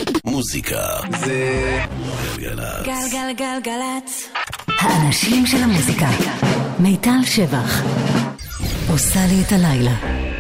מוזיקה זה גלגלצ. גלגלגלגלצ. האנשים של המוזיקה. מיטל שבח עושה לי את הלילה.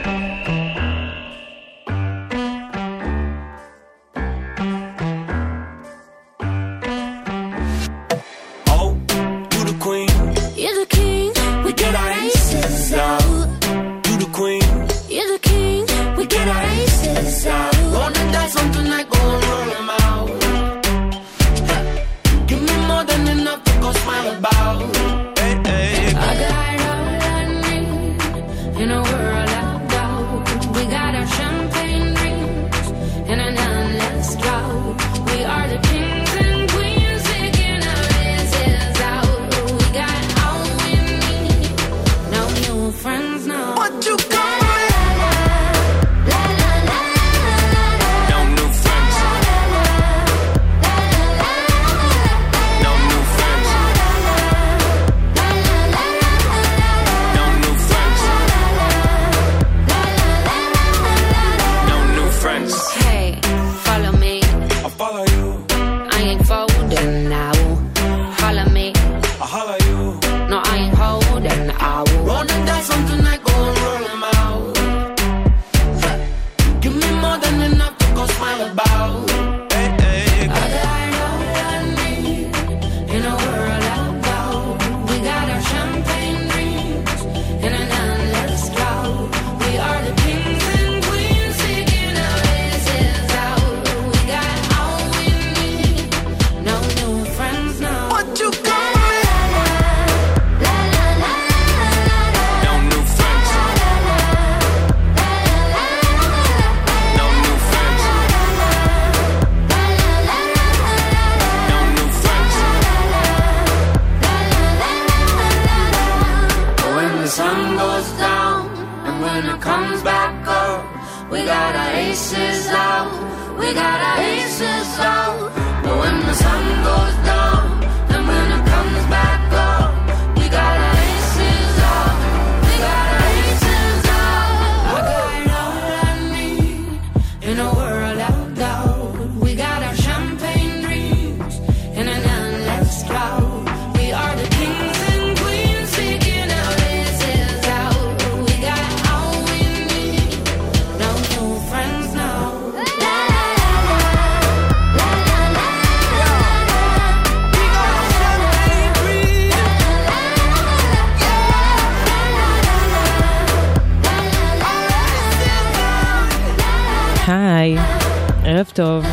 היי, ערב טוב.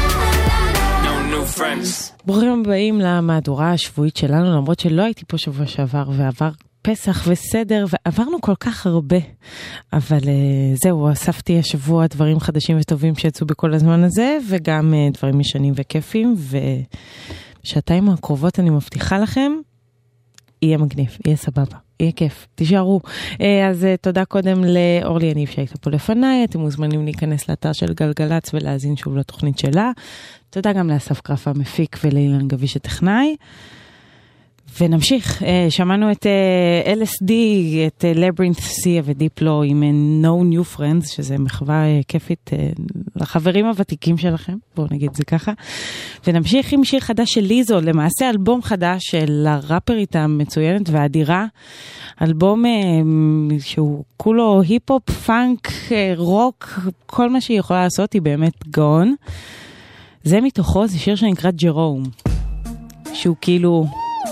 ברוכים הבאים למהדורה השבועית שלנו, למרות שלא הייתי פה שבוע שעבר ועבר פסח וסדר ועברנו כל כך הרבה, אבל זהו, אספתי השבוע דברים חדשים וטובים שיצאו בכל הזמן הזה, וגם דברים ישנים וכיפים, ובשעתיים הקרובות אני מבטיחה לכם, יהיה מגניב, יהיה סבבה, יהיה כיף, תישארו. אז תודה קודם לאורלי יניב שהייתה פה לפניי, אתם מוזמנים להיכנס לאתר של גלגלצ ולהזין שוב לתוכנית שלה. תודה גם לאסף קרפה המפיק ולאילן גביש הטכנאי. ונמשיך, שמענו את LSD, את Labyrinth Sea ודיפלו עם No New Friends, שזה מחווה כיפית לחברים הוותיקים שלכם, בואו נגיד זה ככה. ונמשיך עם שיר חדש של ליזו, למעשה אלבום חדש של הראפרית המצוינת והאדירה, אלבום שהוא כולו היפ-הופ, פאנק, רוק, כל מה שהיא יכולה לעשות היא באמת גאון. זה מתוכו, זה שיר שנקרא ג'רום, שהוא כאילו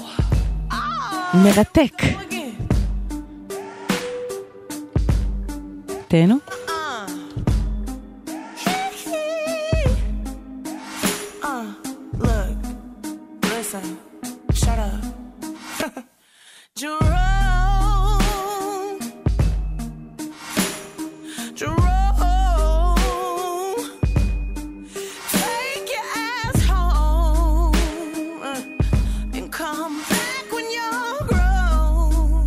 מרתק. תהנו. Look, listen, shut up. Jerome, take your ass home and come back when you're grown.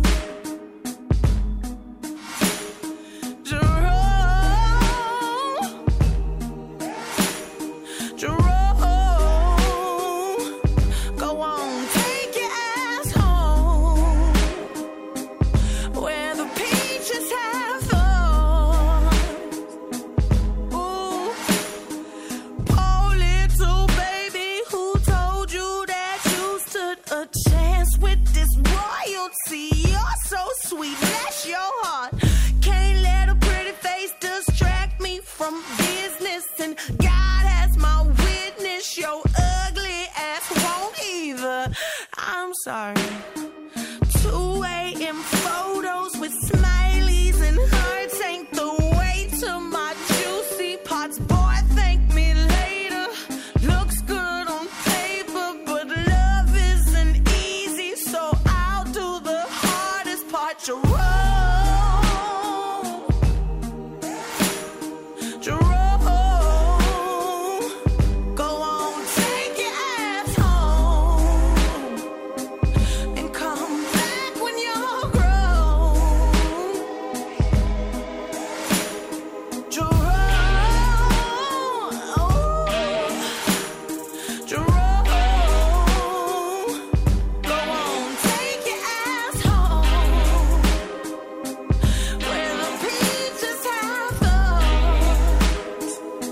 Jerome, go on, take your sweet, bless your heart. Can't let a pretty face distract me from business, and God has my witness, your ugly ass won't either. I'm sorry. 2 a.m. photos with smileys and hearts ain't the way to my juicy parts. Boy, thank me later. Looks good on paper, but love isn't easy, so I'll do the hardest part. Jerome, go on, take your ass home and come back when you're grown. Jerome, Jerome, go on, take your ass home where the peaches have thorns.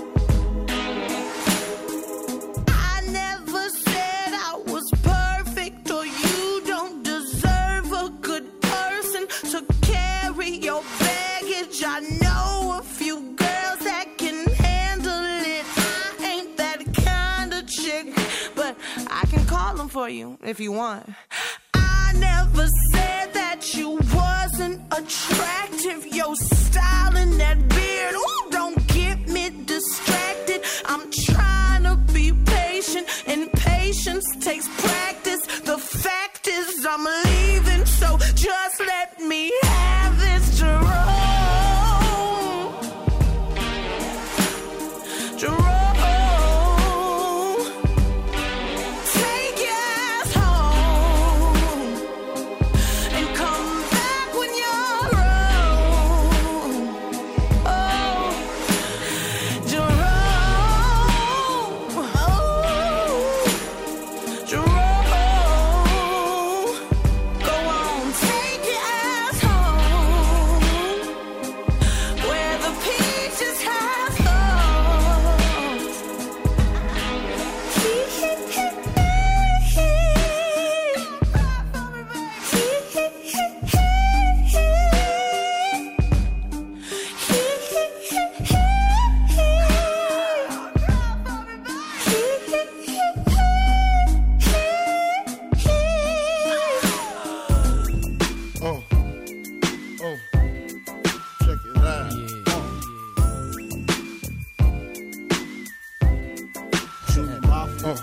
I never said I was perfect, or you don't deserve a good person to carry your baggage. I know a few girls that can handle it. I ain't that kind of chick, but I can call them for you if you want. I never said that you wasn't attractive. Your style and that beard, ooh, don't get me distracted. I'm trying to be patient, and patience takes practice. The fact is I'm leaving, so just let me have this, Jerome. Jerome, take your ass home and come back when you're grown. Oh, Jerome, Jerome, go on, take your ass home where the peaches have thorns. Check it out. Shoot my phone.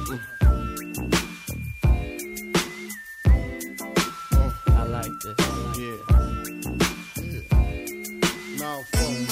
I like this. Yeah. Now phone.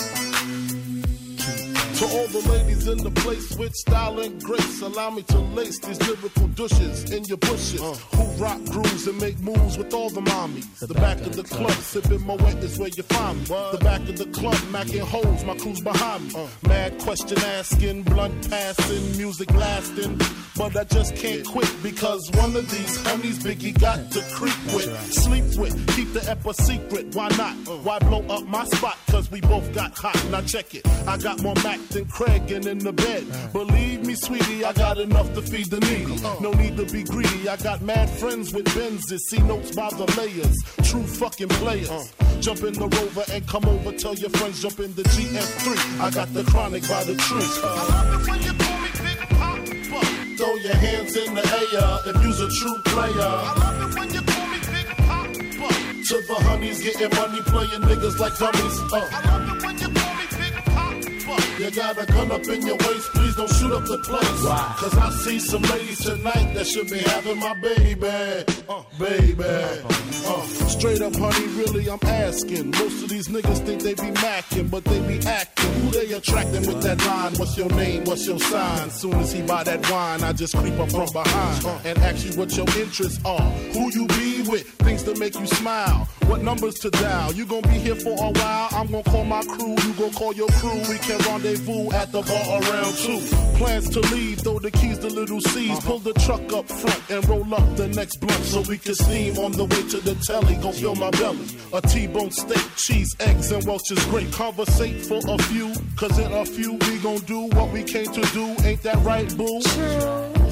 To all the ladies in the place with style and grace, allow me to lace these lyrical douches in your bushes. Who rock grooves and make moves with all the mommies. The back of the club, sipping Moet is where you find me. The back of the club, macking holes, my crew's behind me. Mad question asking, blunt passing, music lasting. But I just can't quit because one of these honeys Biggie got to creep with, sleep with, keep the ep a secret. Why not? Why blow up my spot? Cause we both got hot. Now check it. I got more Mac than Craig and in the bed. Believe me, sweetie, I got enough to feed the needy. No need to be greedy. I got mad friends with Benzes. See notes by the layers. True fucking players. Jump in the Rover and come over. Tell your friends jump in the GF3. I got the chronic by the tree. I love it when you call me Big Papa. Throw your hands in the air if you's a true player. I love it when you call me Big Papa. To the honeys getting money, playing niggas like dummies. I love it when you call me Big Papa. You got a gun up in your waist, please don't shoot up the place. Why? Cause I see some ladies tonight that should be having my baby. Baby. Straight up, honey, really, I'm asking. Most of these niggas think they be macking, but they be acting. Who they attracting with that line? What's your name? What's your sign? Soon as he buy that wine, I just creep up from behind and ask you what your interests are. Who you be with? Things to make you smile. What numbers to dial? You gon' be here for a while. I'm gon' call my crew. You gon' call your crew. We can rendezvous at the bar around 2. Plans to leave, throw the keys to little C's. Pull the truck up front and roll up the next blunt so we can steam on the way to the telly. Gon' fill my belly. A T-bone steak, cheese, eggs, and Welch's grape. Conversate for a few, cause in a few we gon' do what we came to do. Ain't that right, boo?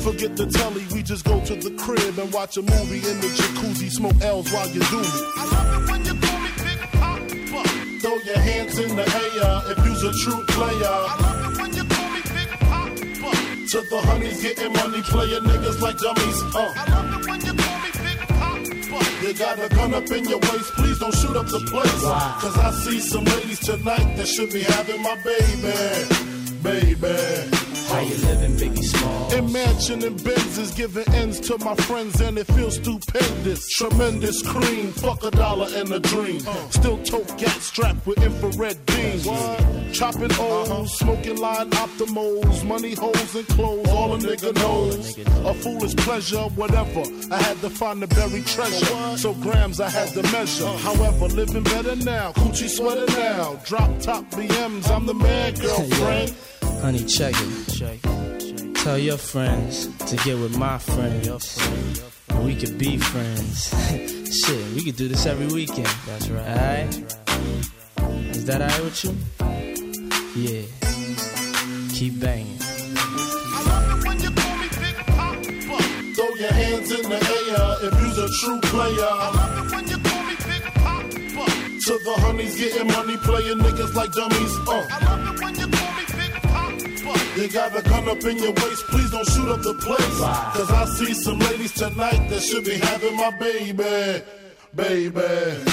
Forget the telly, we just go to the crib and watch a movie in the jacuzzi, smoke L's while you do me. I love it when you call me Big Papa. Throw your hands in the air if you's a true player. I love it when you call me Big Papa. To the honeys getting money, playing niggas like dummies. I love it when you call me Big Papa. You got a gun up in your waist, please don't shoot up the place. Cause I see some ladies tonight that should be having my baby. Baby. How you living, Biggie Small? In mansion and Benzes, giving ends to my friends and it feels stupendous. Tremendous cream, fuck $1 and a dream. Still tote gat strapped with infrared beams. Chopping O's, smoking line optimals, money holes and clothes, all a nigga knows. A foolish pleasure, whatever. I had to find the buried treasure, so grams I had to measure. However, living better now, coochie sweater now. Drop top BMs, I'm the man, girlfriend. Honey, check it. Tell your friends to get with my friends. We could be friends. Shit, we could do this every weekend. That's right. Alright? Is that alright with you? Yeah. Keep banging. I love it when you call me Big Papa. Throw your hands in the air if you's a true player. I love it when you call me Big Papa. To the honeys getting money, playing niggas like dummies. I love it when you call me Big Papa. You got a gun up in your waist, please don't shoot up the place. Cause I see some ladies tonight that should be having my baby. Baby.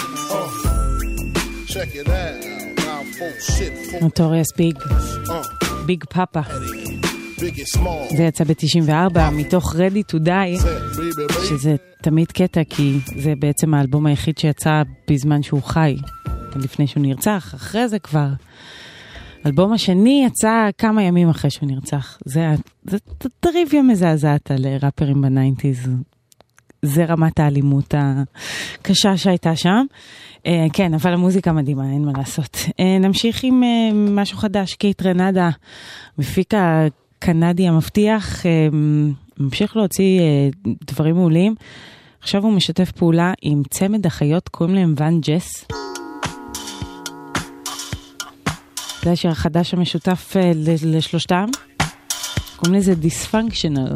Check it out. Now full shit. נוטוריוס ביג. ביג פאפה. זה יצא ב-94 מתוך Ready to Die, שזה תמיד קטע כי זה בעצם האלבום היחיד שיצא בזמן שהוא חי, לפני שהוא נרצח. אחרי זה כבר האלבום השני יצא כמה ימים אחרי שהוא נרצח. זה טריוויה מזעזעת על ראפרים בניינטיז. זה רמת האלימות הקשה שהייתה שם. כן, אבל המוזיקה מדהימה, אין מה לעשות. נמשיך עם משהו חדש. קייט רנדה, מפיק הקנדי המבטיח, ממשיך להוציא דברים מעולים. עכשיו הוא משתף פעולה עם צמד אחיות, קוראים להם ואן ג'ס. זה השיר החדש המשותף לשלושתם. קוראים לזה דיספונקשנל.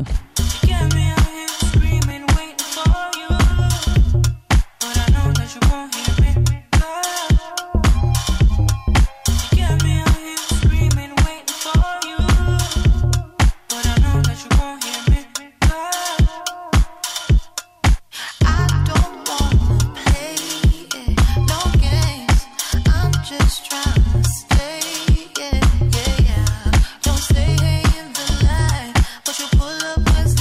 Don't stay in the line, but you pull up.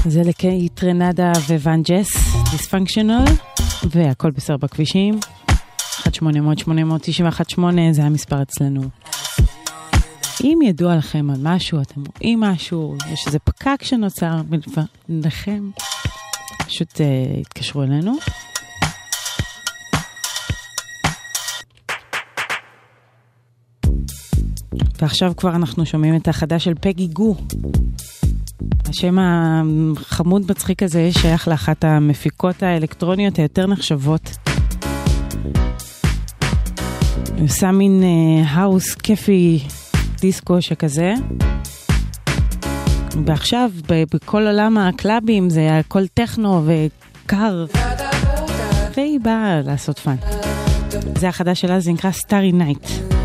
זה לקיי טרנדה וואן ג'ס, דיספונקשיונל, והכל בסדר בכבישים. 1-800-891-8 זה המספר אצלנו. אם ידוע לכם על משהו, אתם רואים משהו, יש איזה פקק שנוצר לכם, פשוט התקשרו אלינו. ועכשיו כבר אנחנו שומעים את החדש של פגי גו. השם החמוד מצחיק הזה שייך לאחת המפיקות האלקטרוניות היותר נחשבות. הוא עושה מין האוס כיפי דיסקו שכזה. ועכשיו בכל עולם הקלאבים זה הכל טכנו וקר. והיא באה לעשות פן. זה החדש שלה, זה נקרא סטארי נייט.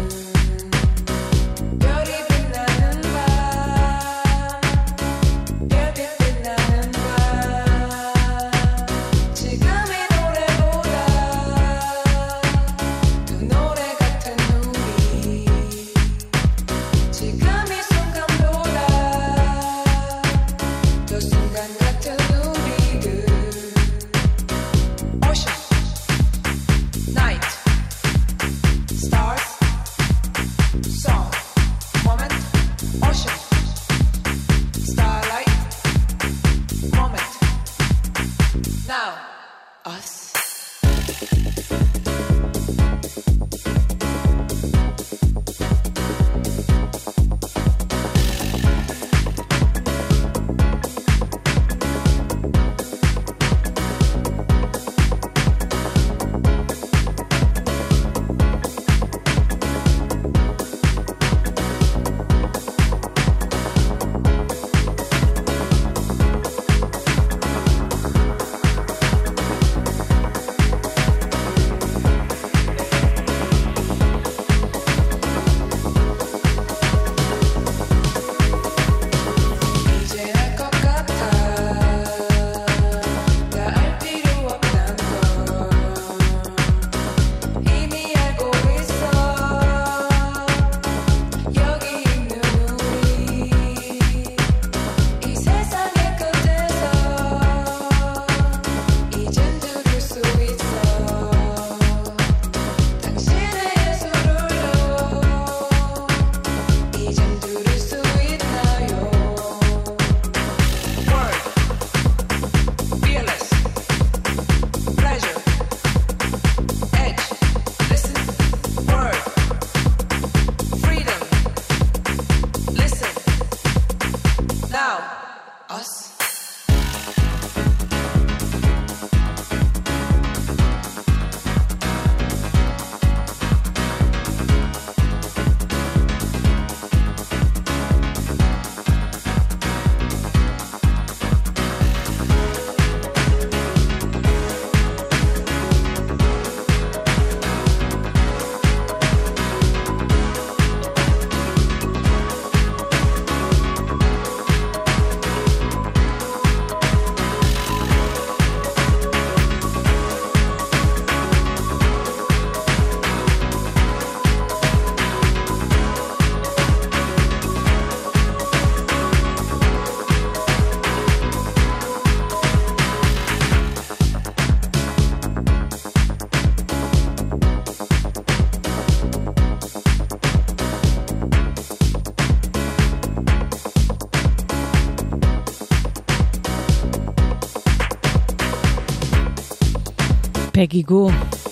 פגי גו,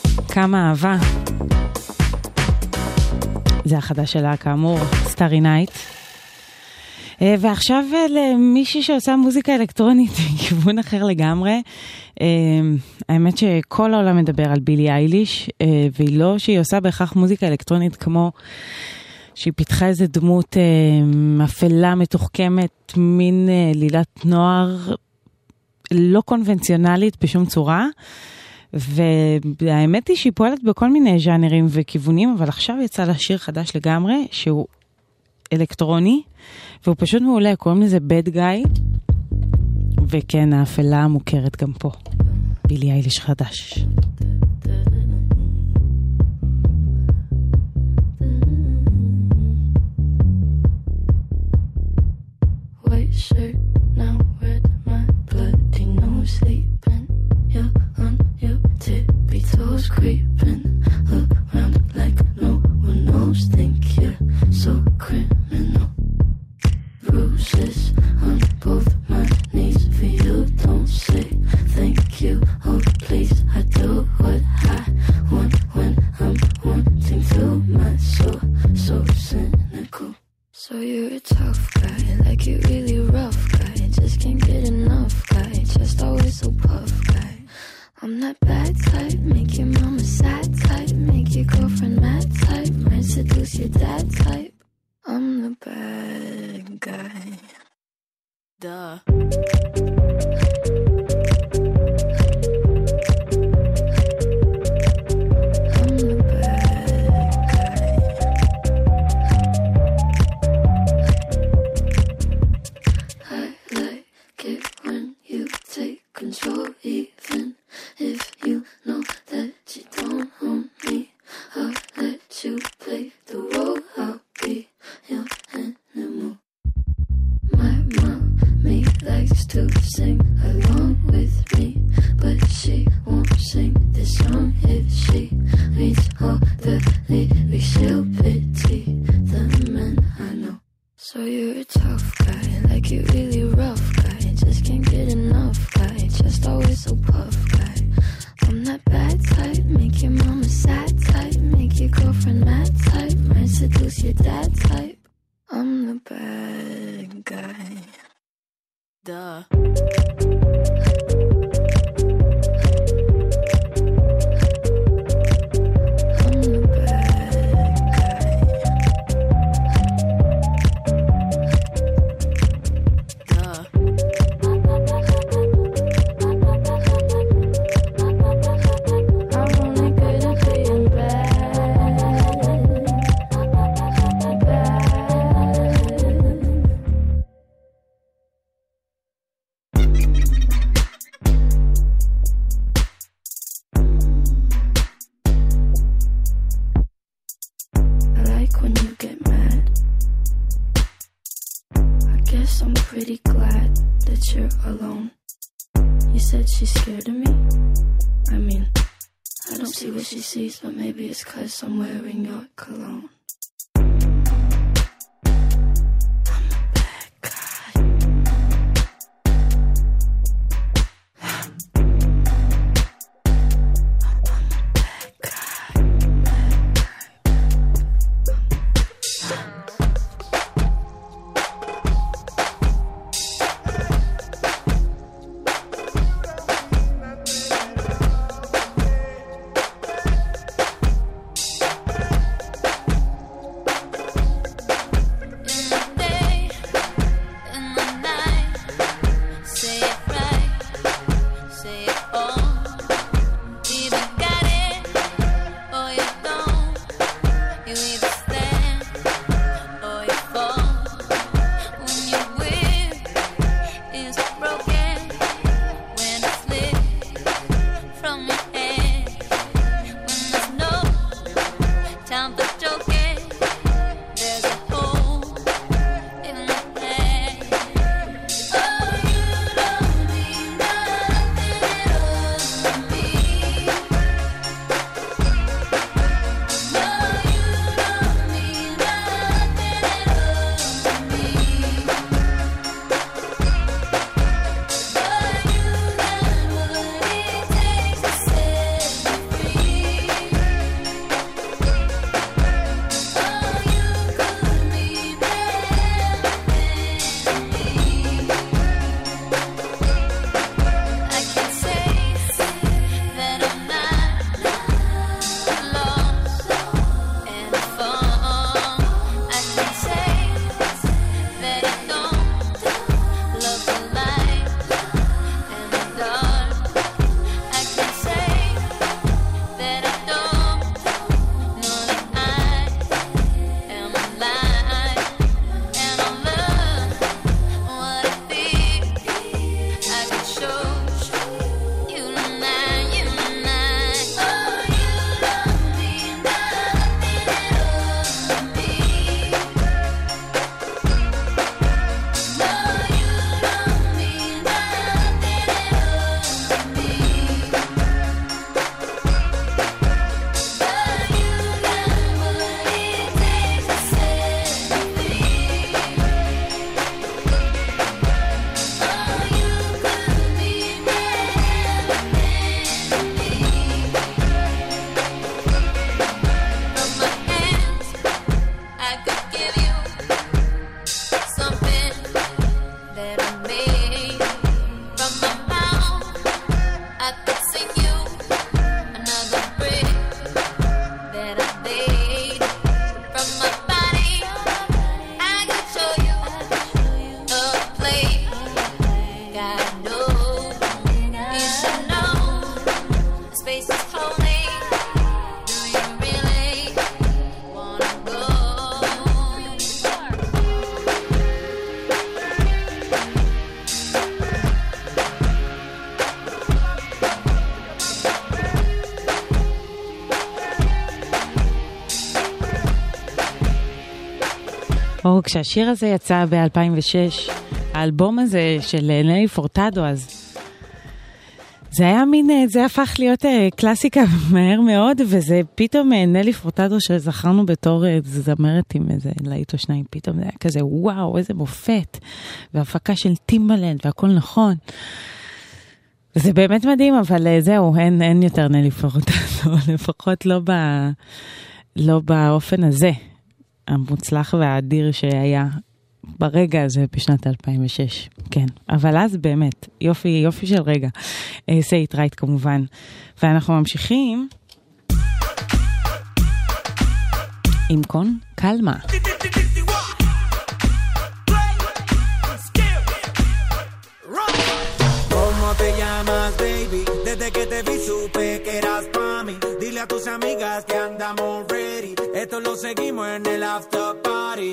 כמה אהבה. זה החדש שלה כאמור, סטארי נייט. ועכשיו למישהי שעושה מוזיקה אלקטרונית בכיוון אחר לגמרי. האמת שכל העולם מדבר על בילי אייליש, והיא לא שהיא עושה בהכרח מוזיקה אלקטרונית כמו שהיא פיתחה איזה דמות אפלה מתוחכמת, מין לילת נוער לא קונבנציונלית בשום צורה. והאמת היא שהיא פועלת בכל מיני ז'אנרים וכיוונים, אבל עכשיו יצא לה שיר חדש לגמרי, שהוא אלקטרוני, והוא פשוט מעולה, קוראים לזה Bad Guy, וכן, האפלה המוכרת גם פה. בילי אייליש חדש. White shirt, now where did my sleeping. You're on your tippy toes, creeping around like no one knows. Think you're so criminal. Bruises on both my knees for you. Don't say thank you, oh please. I do what I want when I'm wanting to. My soul so cynical. So you're a tough guy, like you really rough guy. Just can't get enough guy, just always so puff guy. I'm that bad type, make your mama sad type, make your girlfriend mad type, might seduce your dad type. I'm the bad guy. Duh. Control, even if you know that you don't own me. I'll let you play the role. I'll be your animal. My mommy likes to sing along with me, but she won't sing this song if she reads all the lyrics. She'll pity the men I know. So you're a tough guy, like you really rough guy. Just can't get enough guy, just always so puff guy. I'm that bad type, make your mama sad type, make your girlfriend mad type, might seduce your dad type. I'm the bad guy. Duh. I'm pretty glad that you're alone. You said she's scared of me? I mean, I don't see what she sees, but maybe it's 'cause I'm wearing your cologne. כשהשיר הזה יצא ב-2006, האלבום הזה של נלי פורטדו, אז זה היה מין, זה הפך להיות קלאסיקה מהר מאוד, וזה פתאום נלי פורטדו שזכרנו בתור זמרת עם איזה להיט או שניים, פתאום זה היה כזה, וואו, איזה מופת, והפקה של טימבלנד, והכל נכון. זה באמת מדהים, אבל זהו, אין יותר נלי פורטדו, לפחות לא באופן הזה, המוצלח והאדיר שהיה ברגע הזה בשנת 2006, כן. אבל אז באמת, יופי של רגע. Say it right כמובן. ואנחנו ממשיכים עם קון קלמה. ¿Cómo te llamas, baby? Desde que te vi supe que eras pa' mí. Dile a tus amigas que andamos ready. Esto lo seguimos en el after party.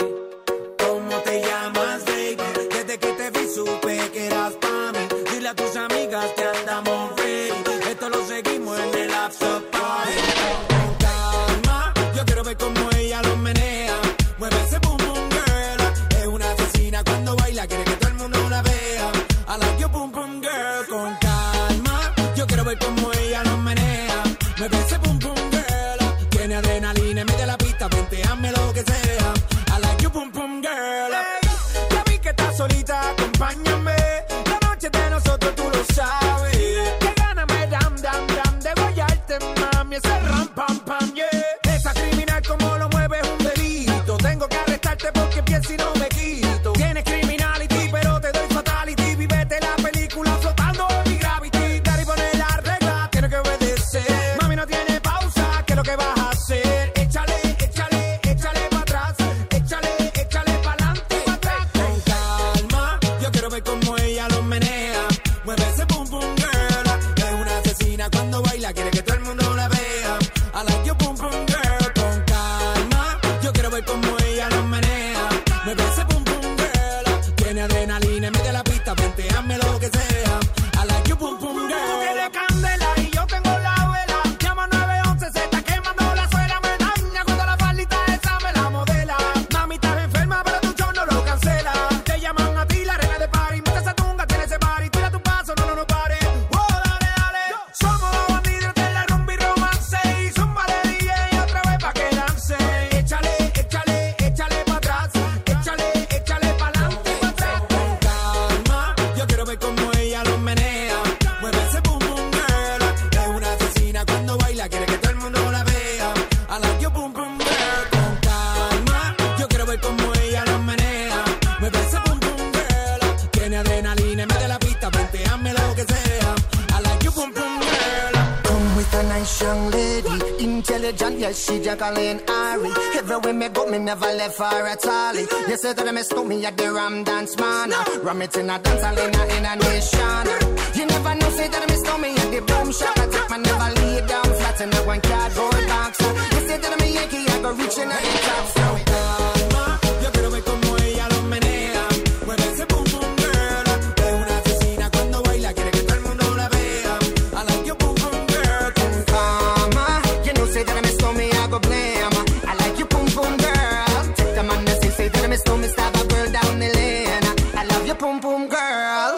¿Cómo te llamas, baby? Desde que te vi supe que eras pa' mí. Dile a tus amigas que andamos ready. Esto lo seguimos en el after party. Con calma, yo quiero ver cómo ella lo menea. Mueve ese boom boom girl. Es una asesina cuando baila, quiere que todo el mundo la vea. I like your boom boom girl. Con calma, yo quiero ver cómo ella lo menea. Mueve ese boom boom girl. Tiene adrenalina en medio de la pista, venteame lo que sea. I like your boom boom girl. Hey, ya vi que estás solita, acompáñame. La noche de nosotros tú lo sabes. Que gana me dam dam dam de guayarte, mami. Ese ram pam pam, yeah. Esa criminal como lo mueve es un delito. Tengo que arrestarte porque pienso y no me quito. Tienes criminality, pero te doy fatality. Vívete la película flotando en mi gravity. Daddy pone la regla, tiene que obedecer. Mami no tiene pausa, ¿qué es lo que vas a hacer? Échale, échale, échale para atrás. Échale, échale para adelante, para atrás. Con calma, yo quiero ver cómo ella lo menea. Mueve ese boom boom girl. Es una asesina cuando baila, quiere que todo el mundo la vea. I like your boom boom girl. Con calma, yo quiero ver cómo ella lo menea. Mueve ese boom boom girl. Tiene adrenalina en medio de la pista, venteame lo que sea. I like your boom boom girl. Tú tienes candela y yo tengo la vela. Llama 911, se está quemando la suela. Me daña cuando la faldita esa me la modela. Mami, estás enferma, pero tu show no lo cancela. Te llaman a ti, la reina de party. Mete esa tunga, tiene ese party. Tira tu paso, no pare. Oh, dale, dale. Somos los bandidos de la rumba y romance. Y zumba de DJ otra vez pa' que lance. Échale, échale, échale pa' atrás. Échale, échale pa' adelante, pa' atrás. Con calma, yo quiero ver cómo ella lo menea. Mueve ese boom boom girl. Es una asesina cuando baila, quiere que todo el mundo la vea. I like your boom boom girl. Con calma, yo quiero ver cómo ella lo menea. Mueve ese boom boom girl. Tiene adrenalina en medio de la pista, venteame lo que sea. I like your boom boom girl. Come with a nice young lady, intelligent, yes, she Jacqueline Ari. Everywhere me go, me never left her at all. You say that me stole me at the Ram Dance Man. Ram it in a dance hall in a nation. You never know, say that me stole me at the Boom Shop. I take my never lay down flat in a one cardboard box. You say that me Yankee, I go reaching at the top. So Calma, yo quiero ver cómo ella lo menea. Mueve ese boom boom girl. Es una asesina cuando baila, quiere que todo el mundo la vea. I like your boom boom girl. Con calma, you know, say that me stole me, I go blame. I like you, boom boom girl. Take the man that say that me stole me, stab a girl down the lane. I love you, boom boom girl.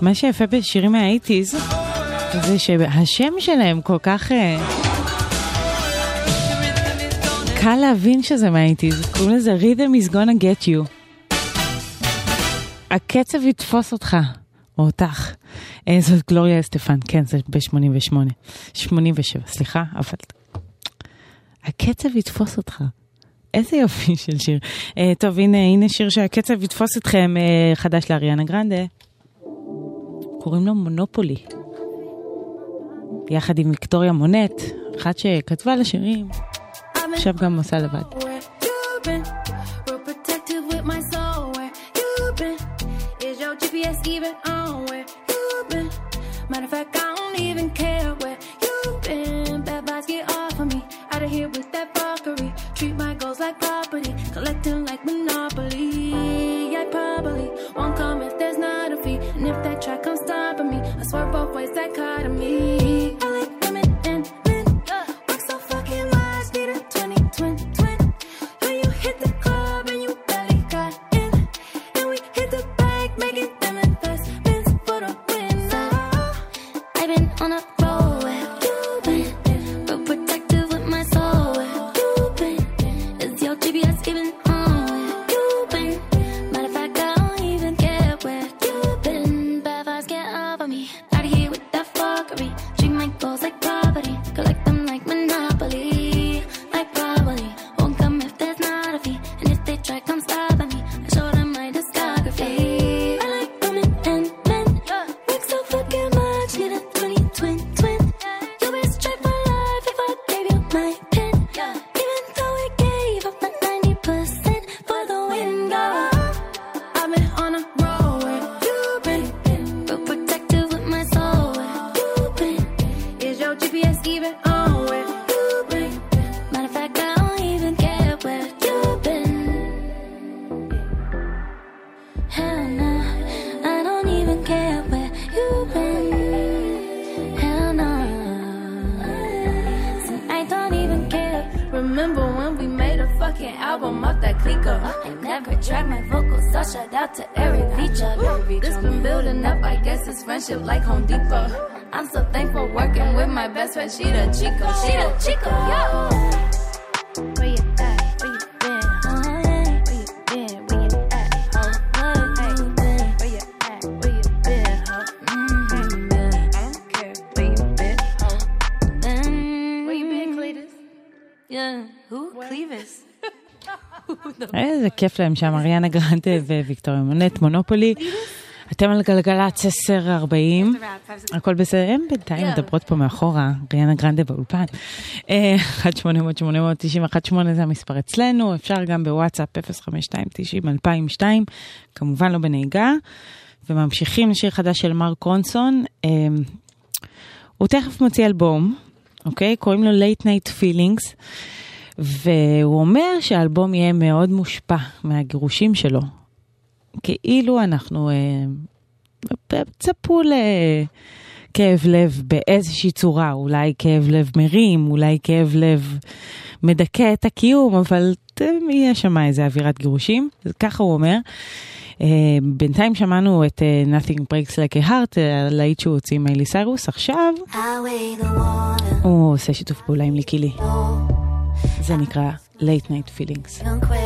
מה שיפה בשירים מה-80s זה שהשם שלהם כל כך קל להבין שזה מה-80s. קוראים לזה Rhythm is gonna get you. הקצב יתפוס אותך, או אותך. זאת גלוריה אסטפן, כן, זה ב-88. 87, סליחה, אבל הקצב יתפוס אותך. איזה יופי של שיר. טוב, הנה שיר שהקצב יתפוס אתכם, חדש לאריאנה גרנדה. קוראים לו מונופולי. יחד עם ויקטוריה מונט, אחת שכתבה לשירים, עכשיו גם עושה לבד. Matter of fact, I don't even care where you've been. Bad vibes get off of me. Out of here with that fuckery. Treat my goals like property. Collect them like Monopoly. I probably won't come if there's not a fee. And if that track comes stopping me, I swear both ways dichotomy. I like women and men. Work so fucking much, need a 20-20-20. When you hit the club and you barely got in. And we hit the bank, making them investments for the win. I've been on a roll where you've been, but protective with my soul where you've been. Is your GPS even on where you've been? Matter of fact, I don't even care where you've been. Bad vibes get over me. Out of here with that fuckery. Treat my goals like property. Collect them like Monopoly. Like probably won't come if there's not a fee. And if they try, come stop at me. I show them my discography. I like women and men. Work so fucking much, need a 20-20-20. You best try for life if I gave you my pen. Even though we gave up the 90% for the win, girl. I've been on a roll where you've been, but protective with my soul where you've been. Is your GPS even on where you've been? Matter of fact, I don't even care where you've been. Hell no, I don't even care where you've been. Hell no, so I don't even care. Remember when we made a fucking album off that clicker? I never tried my vocals, so shout out to Eric Feature. This been building up, I guess it's friendship like Home Depot. I'm so thankful working with my best friend, she the Chico, yo. Where you at? Where you been? Where you been? Where you at? Where you been? Where you at? Where you been? I don't care where you been. Where you been, Cletus? Yeah, who? Clevis. איזה כיף להם שם, אריאנה גרנדה וויקטוריה מונט, מונופולי. אתם על גלגלצ 10:40, הכל בסדר, הם בינתיים מדברות פה מאחורה, אריאנה גרנדה באולפן. 1-800-891-8 זה המספר אצלנו, אפשר גם בוואטסאפ 052-90-2002, כמובן לא בנהיגה, וממשיכים לשיר חדש של מרק רונסון, הוא תכף מוציא אלבום, אוקיי? קוראים לו Late Night Feelings, והוא אומר שהאלבום יהיה מאוד מושפע מהגירושים שלו. כאילו אנחנו צפו לכאב לב באיזושהי צורה, אולי כאב לב מרים, אולי כאב לב מדכא את הקיום, אבל יהיה שם איזה אווירת גירושים, ככה הוא אומר. בינתיים שמענו את Nothing Breaks Like a Heart, להיט שהוא הוציא מיילי סיירוס, עכשיו הוא עושה שיתוף פעולה עם ליקילי. זה נקרא Late Night Feelings.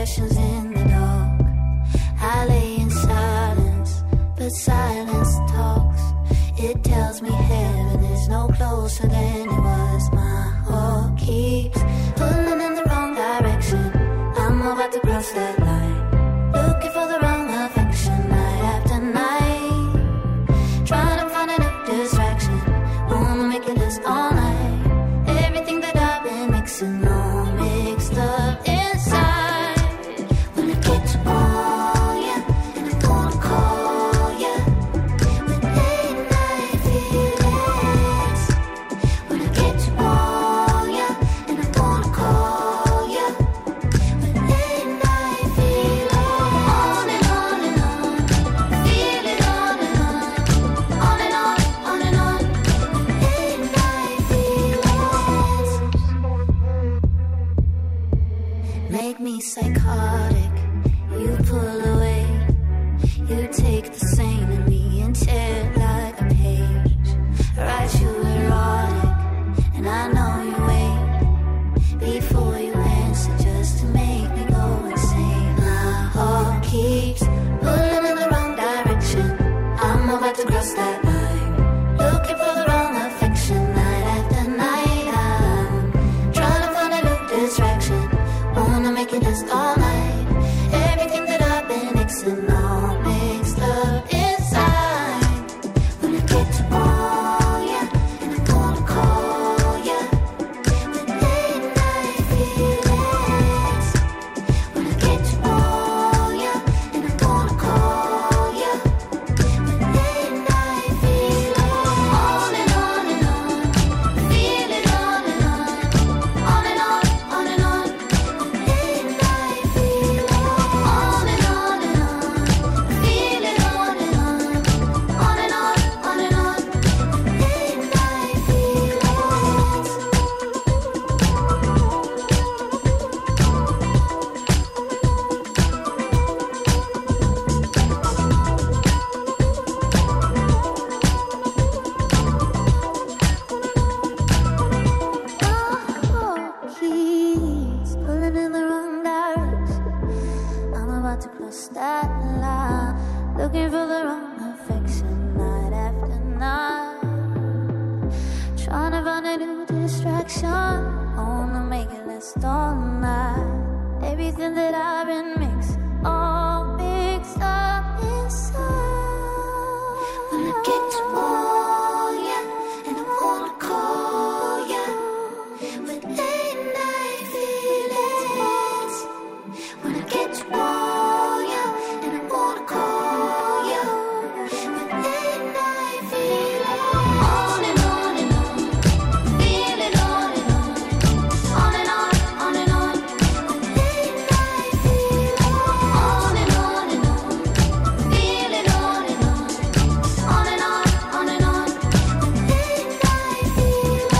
I lay in silence, but silence talks. It tells me heaven is no closer than it was. My heart keeps pulling in the wrong direction. I'm about to cross that line, looking for the wrong affection night after night. Trying to find a new distraction, wanna make it last all night. Everything that I've been mixing all mixed up inside. When it gets on psychotic, you pull away, you take the sane in me and tear it Trying to find a new distraction. Wanna make it last all night. Everything that I've been mixing, all mixed up inside. When I get to know ya, and I wanna call ya with late night feelings. When I get to know ya, and I wanna call ya with late night feelings. On and on and on, feeling on and on, on and on, on and on with late night feelings. On and on and on, feeling on and on, on and on, on and on with late night feelings.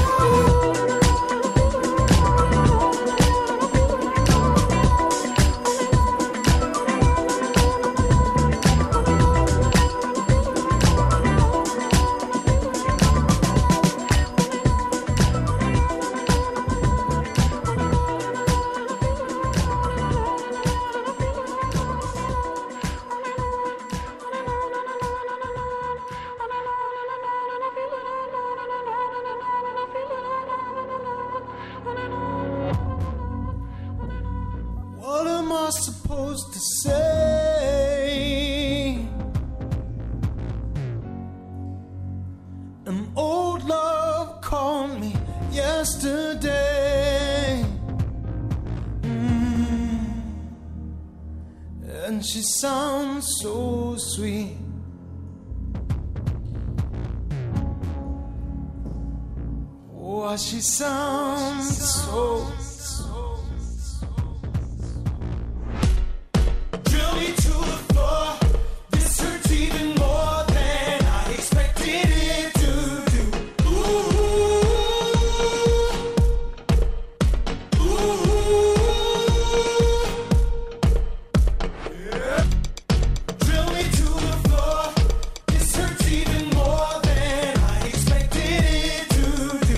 What am I supposed to say? An old love called me yesterday. And she sounds so sweet. Oh, she sounds so. Drill me to the floor. This hurts even more than I expected it to do. Ooh, ooh, yeah. Drill me to the floor. This hurts even more than I expected it to do.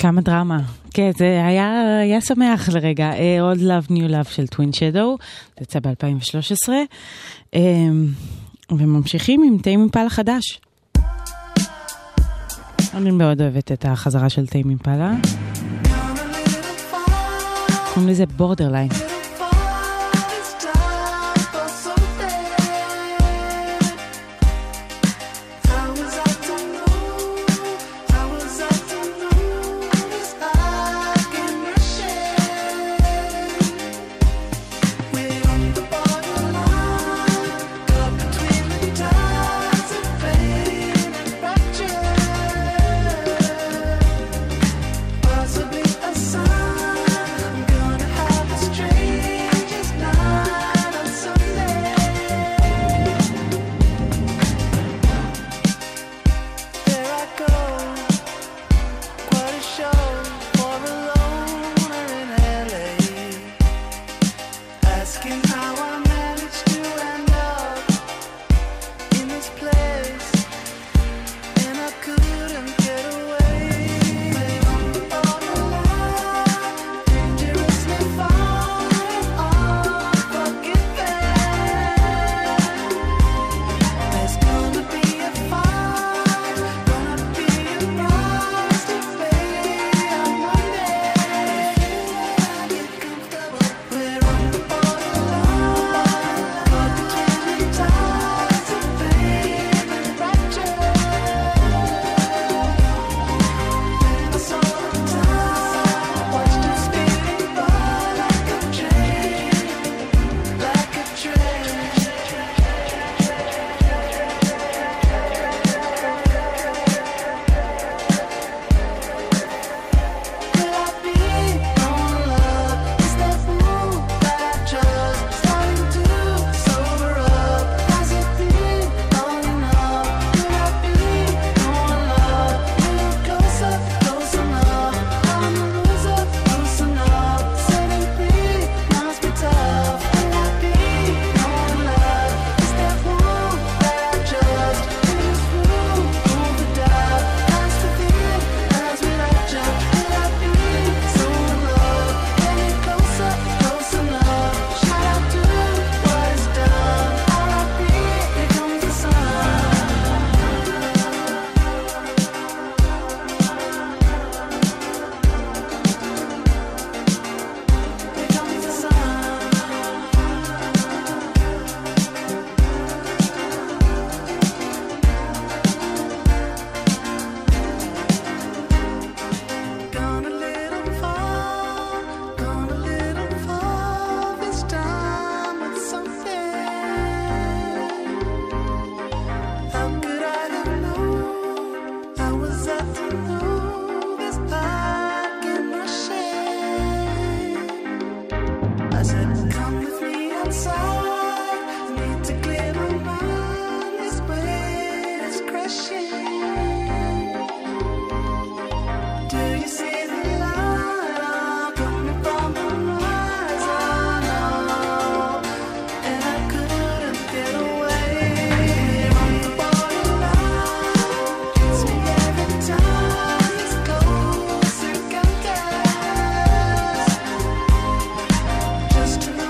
כמה דרמה. כן, זה היה שמח לרגע. Old Love New Love של Twin Shadow, זה יצא ב-2013. וממשיכים עם טיים אימפלה חדש. אני מאוד אוהבת את החזרה של טיים אימפלה. קוראים לזה בורדרליין. Just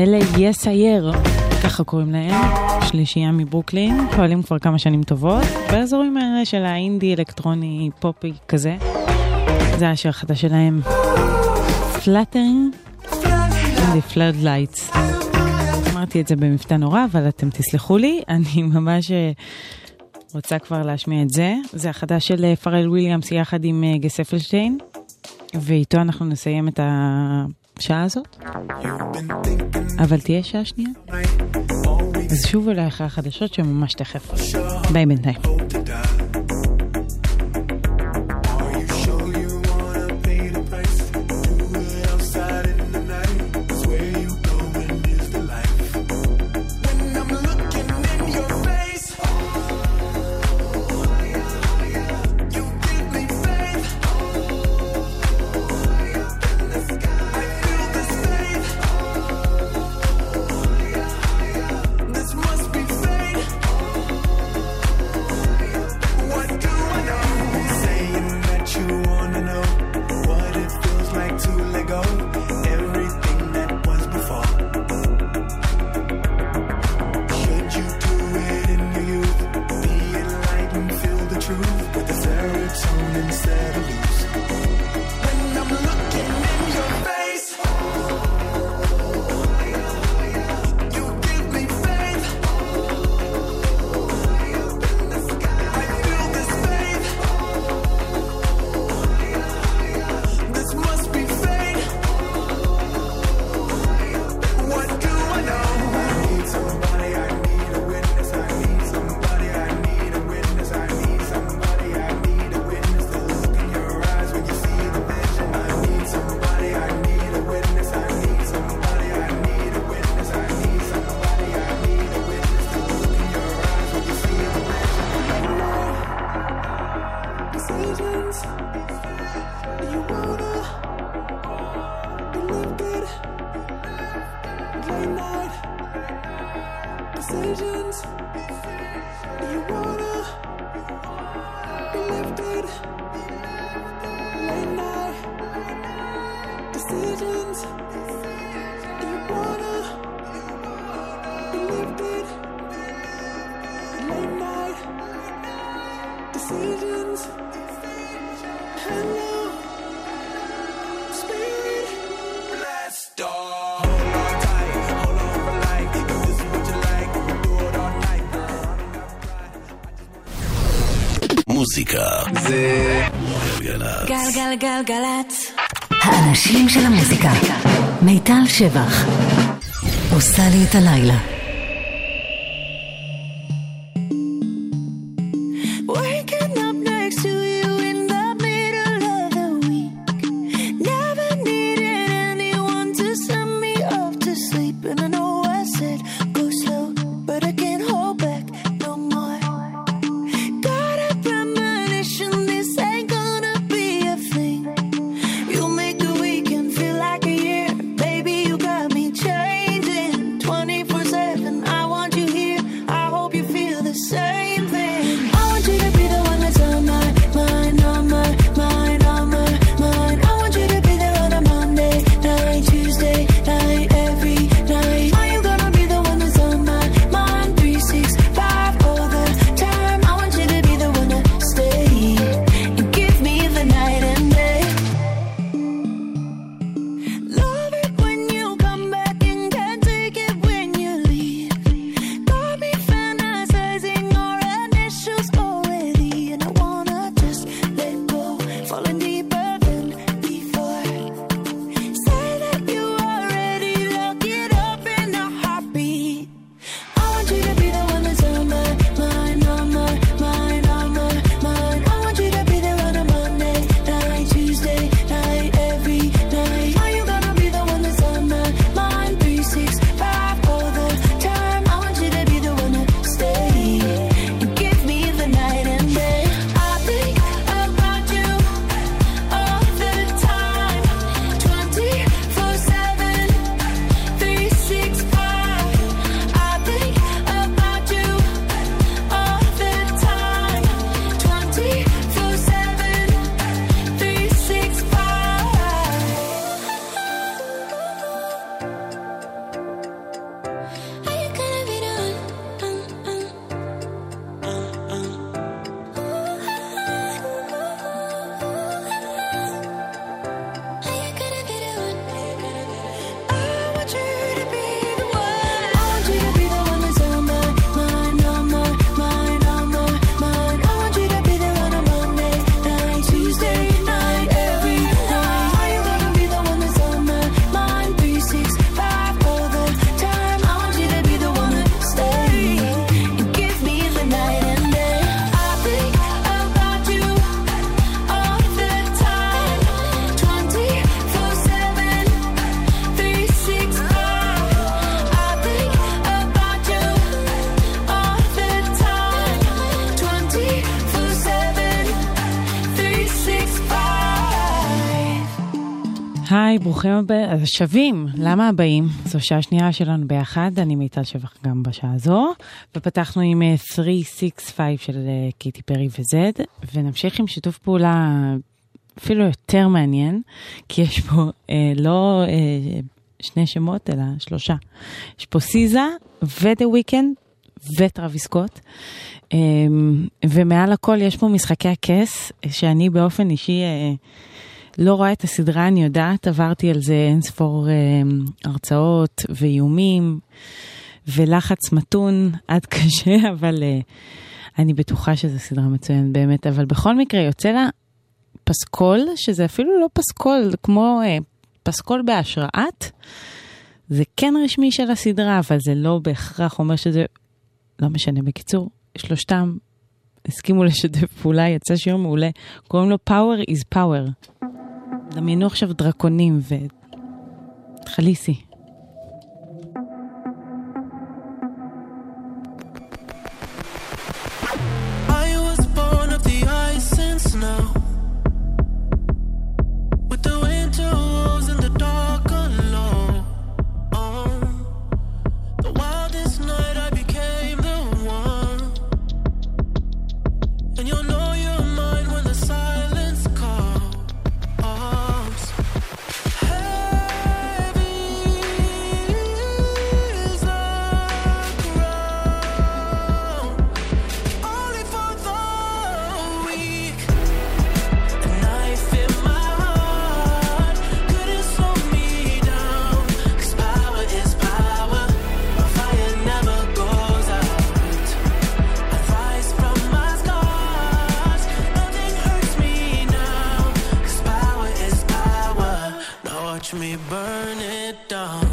אלה יסייר, ככה קוראים להם, שלישייה מברוקלין, פועלים כבר כמה שנים טובות, באזורים האלה של האינדי, אלקטרוני, פופי כזה. זה השיר החדש שלהם, Fluttering in the Floodlights. אמרתי את זה במבטא נורא, אבל אתם תסלחו לי, אני ממש רוצה כבר להשמיע את זה. זה החדש של פרל וויליאמס יחד עם גס אפלשטיין, ואיתו אנחנו נסיים את השעה הזאת. אבל תהיה שעה שנייה. אז שוב אולי אחרי החדשות שממש תכף. ביי בינתיים. מוזיקה זה גלגלצ. גלגלגלגלצ. האנשים של המוזיקה. מיטל שבח עושה לי את הלילה. Feel like a year, baby, you got me changing 24/7. היי, ברוכים השבים. למה הבאים? זו שעה שנייה שלנו ביחד, אני מיטל שבח גם בשעה הזו, ופתחנו עם 365 של קיטי פרי וזד, ונמשיך עם שיתוף פעולה אפילו יותר מעניין, כי יש פה לא שני שמות, אלא 3. יש פה סיזה ודה וויקנד וטרוויס סקוט, ומעל הכל יש פה משחקי הכס, שאני באופן אישי לא רואה את הסדרה, אני יודעת, עברתי על זה אינספור הרצאות ואיומים ולחץ מתון עד קשה, אבל אני בטוחה שזו סדרה מצוינת באמת, אבל בכל מקרה יוצא לה פסקול, שזה אפילו לא פסקול, כמו פסקול בהשראת, זה כן רשמי של הסדרה, אבל זה לא בהכרח אומר שזה, לא משנה, בקיצור, שלושתם הסכימו לשתף פעולה, יצא שיר מעולה, קוראים לו Power is Power. דמיינו עכשיו דרקונים וחליסי. I was born of the ice and snow, with the winter wolves in the dark alone. The wildest night I became the one, and you'll know you're mine when the silence calls. Me burn it down.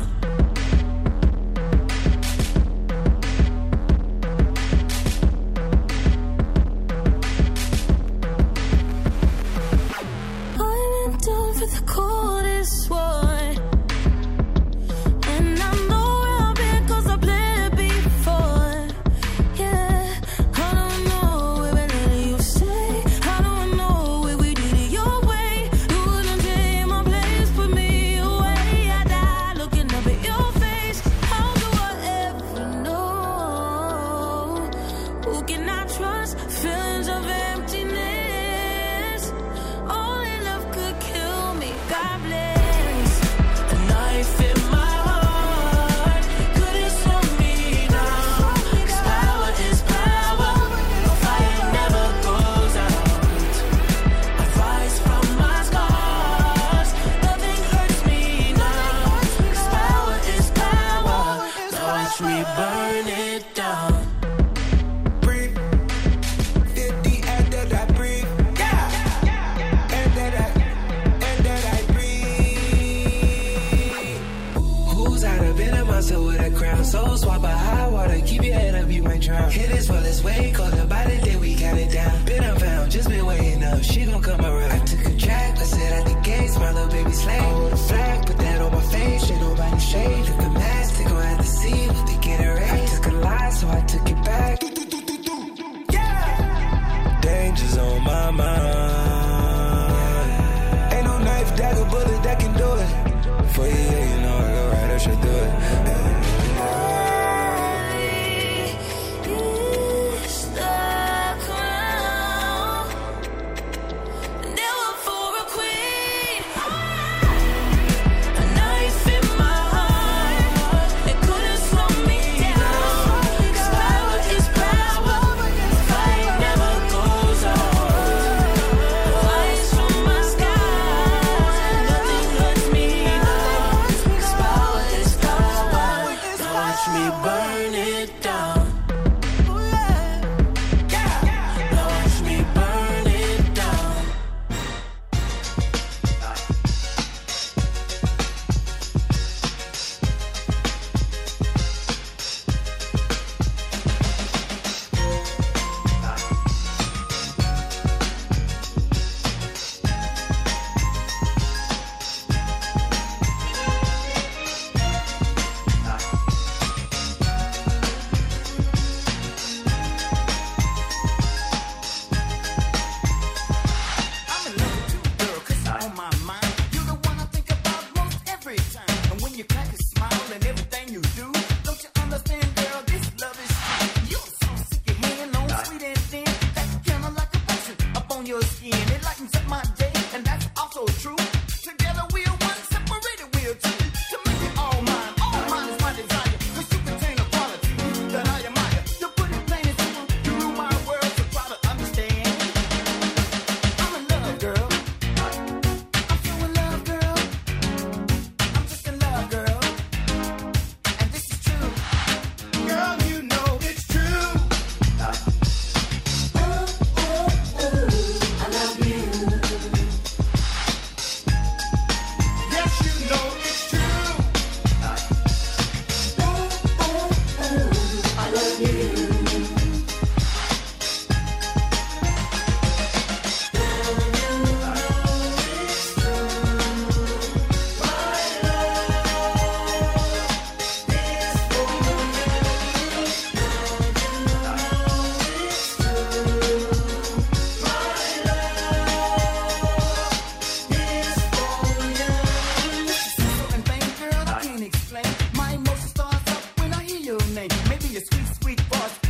I went down for the coldest one, and I know where I've been 'cause I played before. Yeah, I don't know where we let you stay. I don't know where we did it your way. You wouldn't take my place, put me away. I died looking up at your face. How do I ever know? Who can I trust? Feelings of emptiness. Only love could kill me. God bless. A knife in my heart couldn't slow me down. 'Cause power is power. The fire never goes out. I rise from my scars. Nothing hurts me now. 'Cause power is power. Now watch me burn it down. Breathe. 50 and that I breathe. Yeah. And that I breathe. Who's out of bed of myself with a crown? So swap a high water, keep your head up, you might drown. Hit this for this way, call the body, then we got it down. Been unfound, just been waiting up, she gon' come around. I took a track, I said at the gates, my little baby slave. I hold a flag, put that on my face, ain't nobody shade. Took the mask, they gon' have to see what they get erased. I took a lie, so I took it back. Yeah! Danger's on my mind. Ain't no knife, dagger, bullet that can do it. For you, yeah, you know I go right, I should do it. Never for a queen. A knife in my heart, it couldn't slow me down. 'Cause power is power. The fight never goes out. The lights from my skies, nothing hurts me now. 'Cause power is power.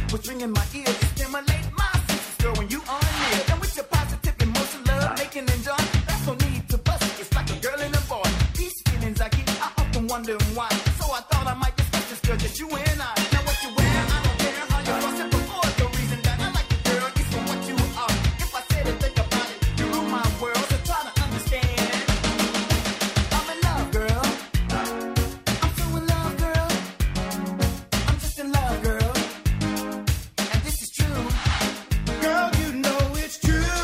was ringing my ears to stimulate my senses, girl, when you are near. And with your positive emotion, love making and joy, that's no need to bust it. It's like a girl and a boy. These feelings I keep, I often wondering why. So I thought I might discuss this, girl, just you and I. Now what you wear, I don't care how you fuss it before. The reason that I like you, girl, is for what you are. If I said it, think about it, you rule my world, so try to understand. I'm in love, girl. I'm so in love, girl. I'm just in love, girl. And this is true. Girl, you know it's true.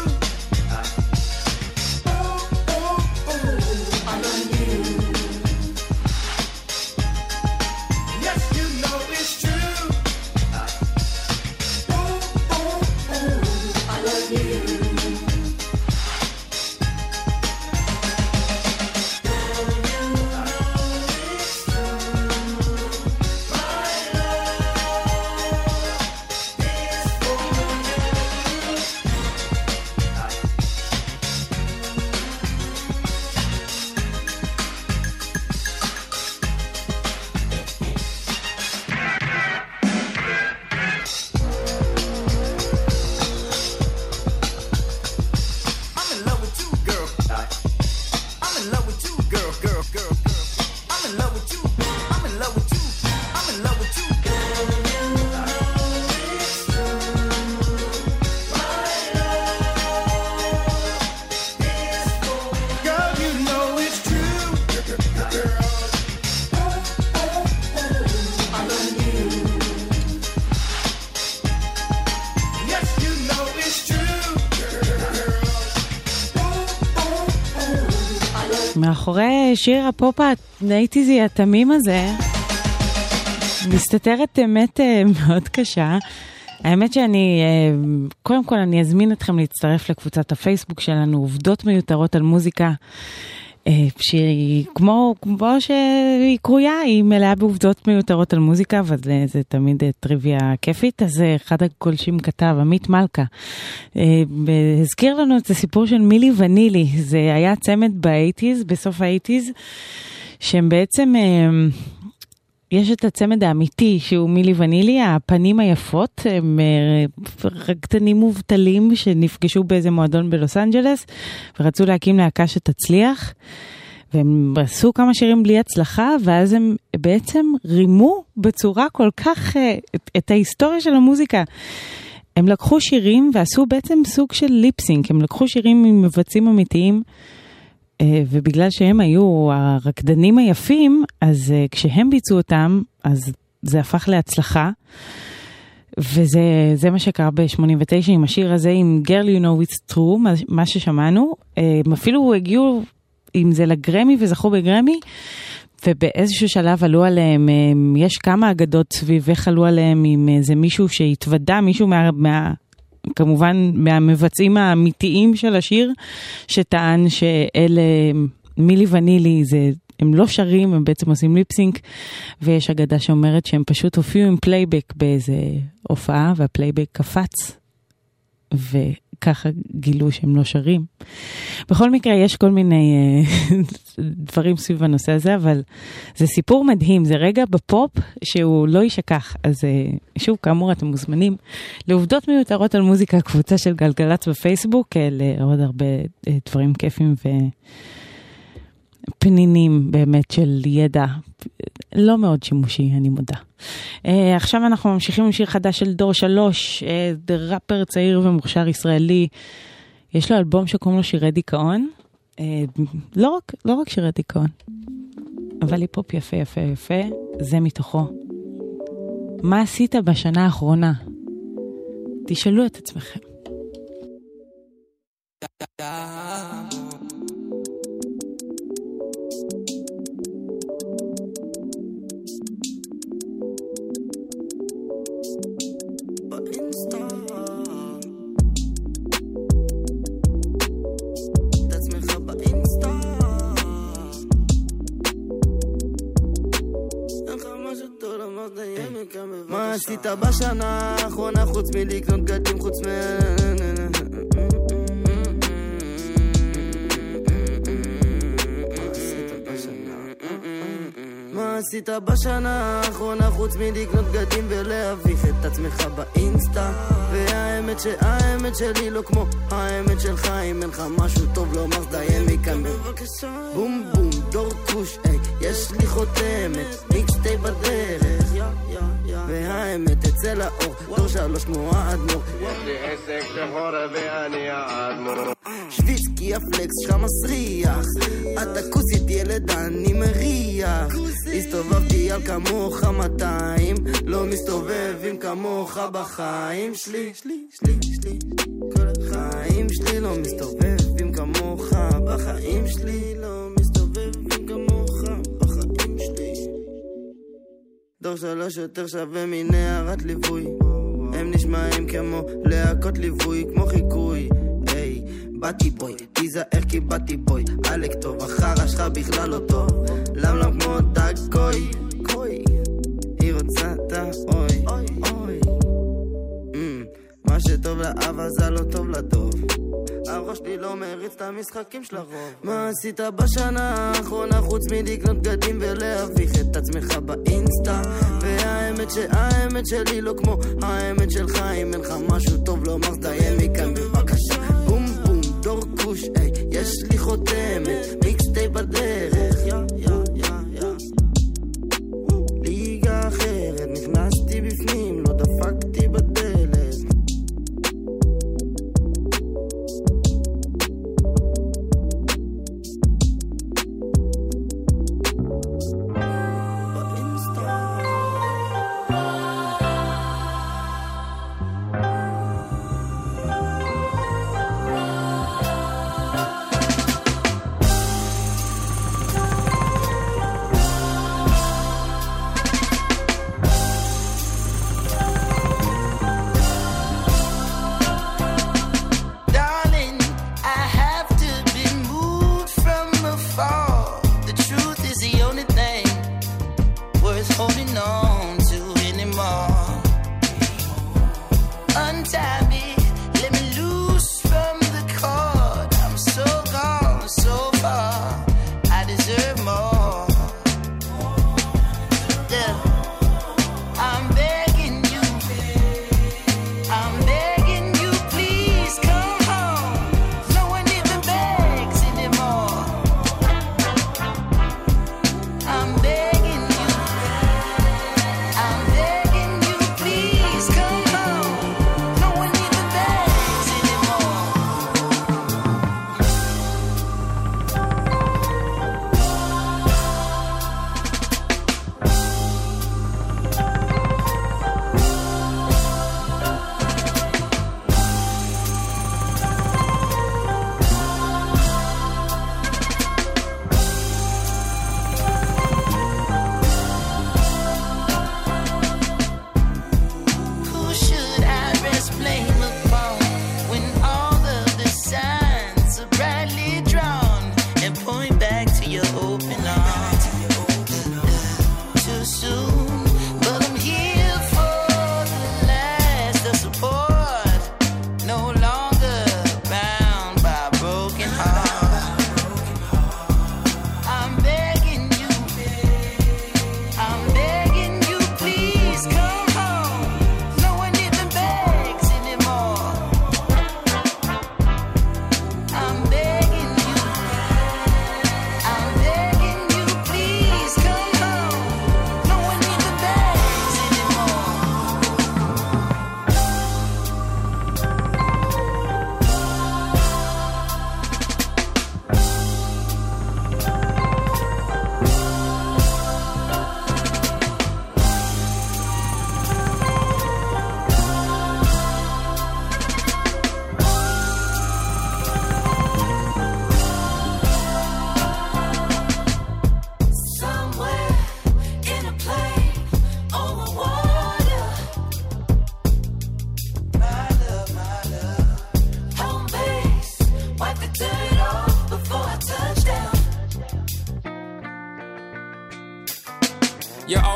Oh, oh, oh, I love you. Yes, you know it's true. Oh, oh, oh, I love you. I'm in love with you, girl. I'm in love with you, girl, girl, girl, girl. I'm in love with you. I'm in love with you. I'm in love with you, girl, you know it's true. Oh, oh, oh, I love you. Yes, you know it's true. מאחורי שיר הפופ האייטיזי התמים הזה מסתתרת אמת מאוד קשה. האמת שאני, קודם כל אני אזמין אתכם להצטרף לקבוצת הפייסבוק שלנו, עובדות מיותרות על מוזיקה, שהיא כמו שהיא קרויה, היא מלאה בעובדות מיותרות על מוזיקה, אבל זה תמיד טריוויה כיפית. אז אחד הגולשים כתב, עמית מלכה, הזכיר לנו את הסיפור של מילי ונילי. זה היה צמד באייטיז, בסוף האייטיז, שהם בעצם, יש את הצמד האמיתי שהוא מילי ונילי, הפנים היפות, הם רקדנים מובטלים שנפגשו באיזה מועדון בלוס אנג'לס, ורצו להקים להקה שתצליח, והם עשו כמה שירים בלי הצלחה, ואז הם בעצם רימו בצורה כל כך את ההיסטוריה של המוזיקה. הם לקחו שירים ועשו בעצם סוג של ליפסינק, הם לקחו שירים עם מבצעים אמיתיים, ובגלל שהם היו הרקדנים היפים, אז כשהם ביצעו אותם, אז זה הפך להצלחה, וזה מה שקרה ב-89 עם השיר הזה, עם Girl You Know It's True, מה ששמענו. הם אפילו הגיעו עם זה לגרמי וזכו בגרמי, ובאיזשהו שלב עלו עליהם, יש כמה אגדות סביב איך עלו עליהם עם איזה מישהו שהתוודע, מישהו כמובן מהמבצעים האמיתיים של השיר, שטען שאלה מילי ונילי, הם לא שרים, הם בעצם עושים ליפסינק, ויש אגדה שאומרת שהם פשוט הופיעו עם פלייבק באיזה הופעה, והפלייבק קפץ, וככה גילו שהם לא שרים. בכל מקרה, יש כל מיני דברים סביב הנושא הזה, אבל זה סיפור מדהים, זה רגע בפופ שהוא לא ישכח. אז שוב, כאמור, אתם מוזמנים לעובדות מיותרות על מוזיקה, קבוצה של גלגלץ בפייסבוק, לעוד הרבה דברים כיפים ופנינים באמת של ידע, לא מאוד שימושי, אני מודה. עכשיו אנחנו ממשיכים עם שיר חדש של דור 3, ראפר צעיר ומוכשר ישראלי, יש לו אלבום שקוראים לו שירי דיכאון, לא רק שירי דיכאון, אבל היפ-הופ יפה יפה יפה, זה מתוכו. מה עשית בשנה האחרונה? תשאלו את עצמכם. מה עשית בשנה האחרונה חוץ מלקנות בגדים חוץ מה עשית בשנה האחרונה חוץ מלקנות בגדים ולהביך את עצמך באינסטה? והאמת שהאמת שלי לא כמו האמת שלך, אם אין לך משהו טוב לומר זדיין מכאן בבקשה. בום בום דור כוש, יש לי חותמת, מיקסטייפ בדרך, והאמת תצא לאור, דור 3 כמו האדמו"ר. יש לי עסק שחור ואני האדמו"ר. שוויצקי הפלקס שלך מסריח, אתה כוסית ילד אני מריח. הסתובבתי על כמוך 200, לא מסתובב עם כמוך בחיים שלי. כל החיים שלי לא מסתובב עם כמוך בחיים שלי, לא מסתובב עם כמוך בחיים שלי. דור 3 יותר שווה מנערת ליווי, הם נשמעים כמו להקות ליווי, כמו חיקוי. היי, באתי בוי, תיזהר כי באתי בוי, אלק טוב, החרא שלך בכלל לא טוב, למלם כמו דגוי, היא רוצה את האוי, מה שטוב לאבא זה לא טוב לדוב, הראש לי לא מריץ את המשחקים של הרוב. מה עשית בשנה האחרונה חוץ מלקנות בגדים ולהביך את עצמך באינסטה? והאמת שהאמת שלי לא כמו האמת שלך, אם אין לך משהו טוב לומר זדיין מכאן בבקשה. בום בום דור כוש, יש לי חותמת, מיקסטייפ בדרך, ליגה אחרת, נכנסתי בפנים, לא דפקתי בדלת.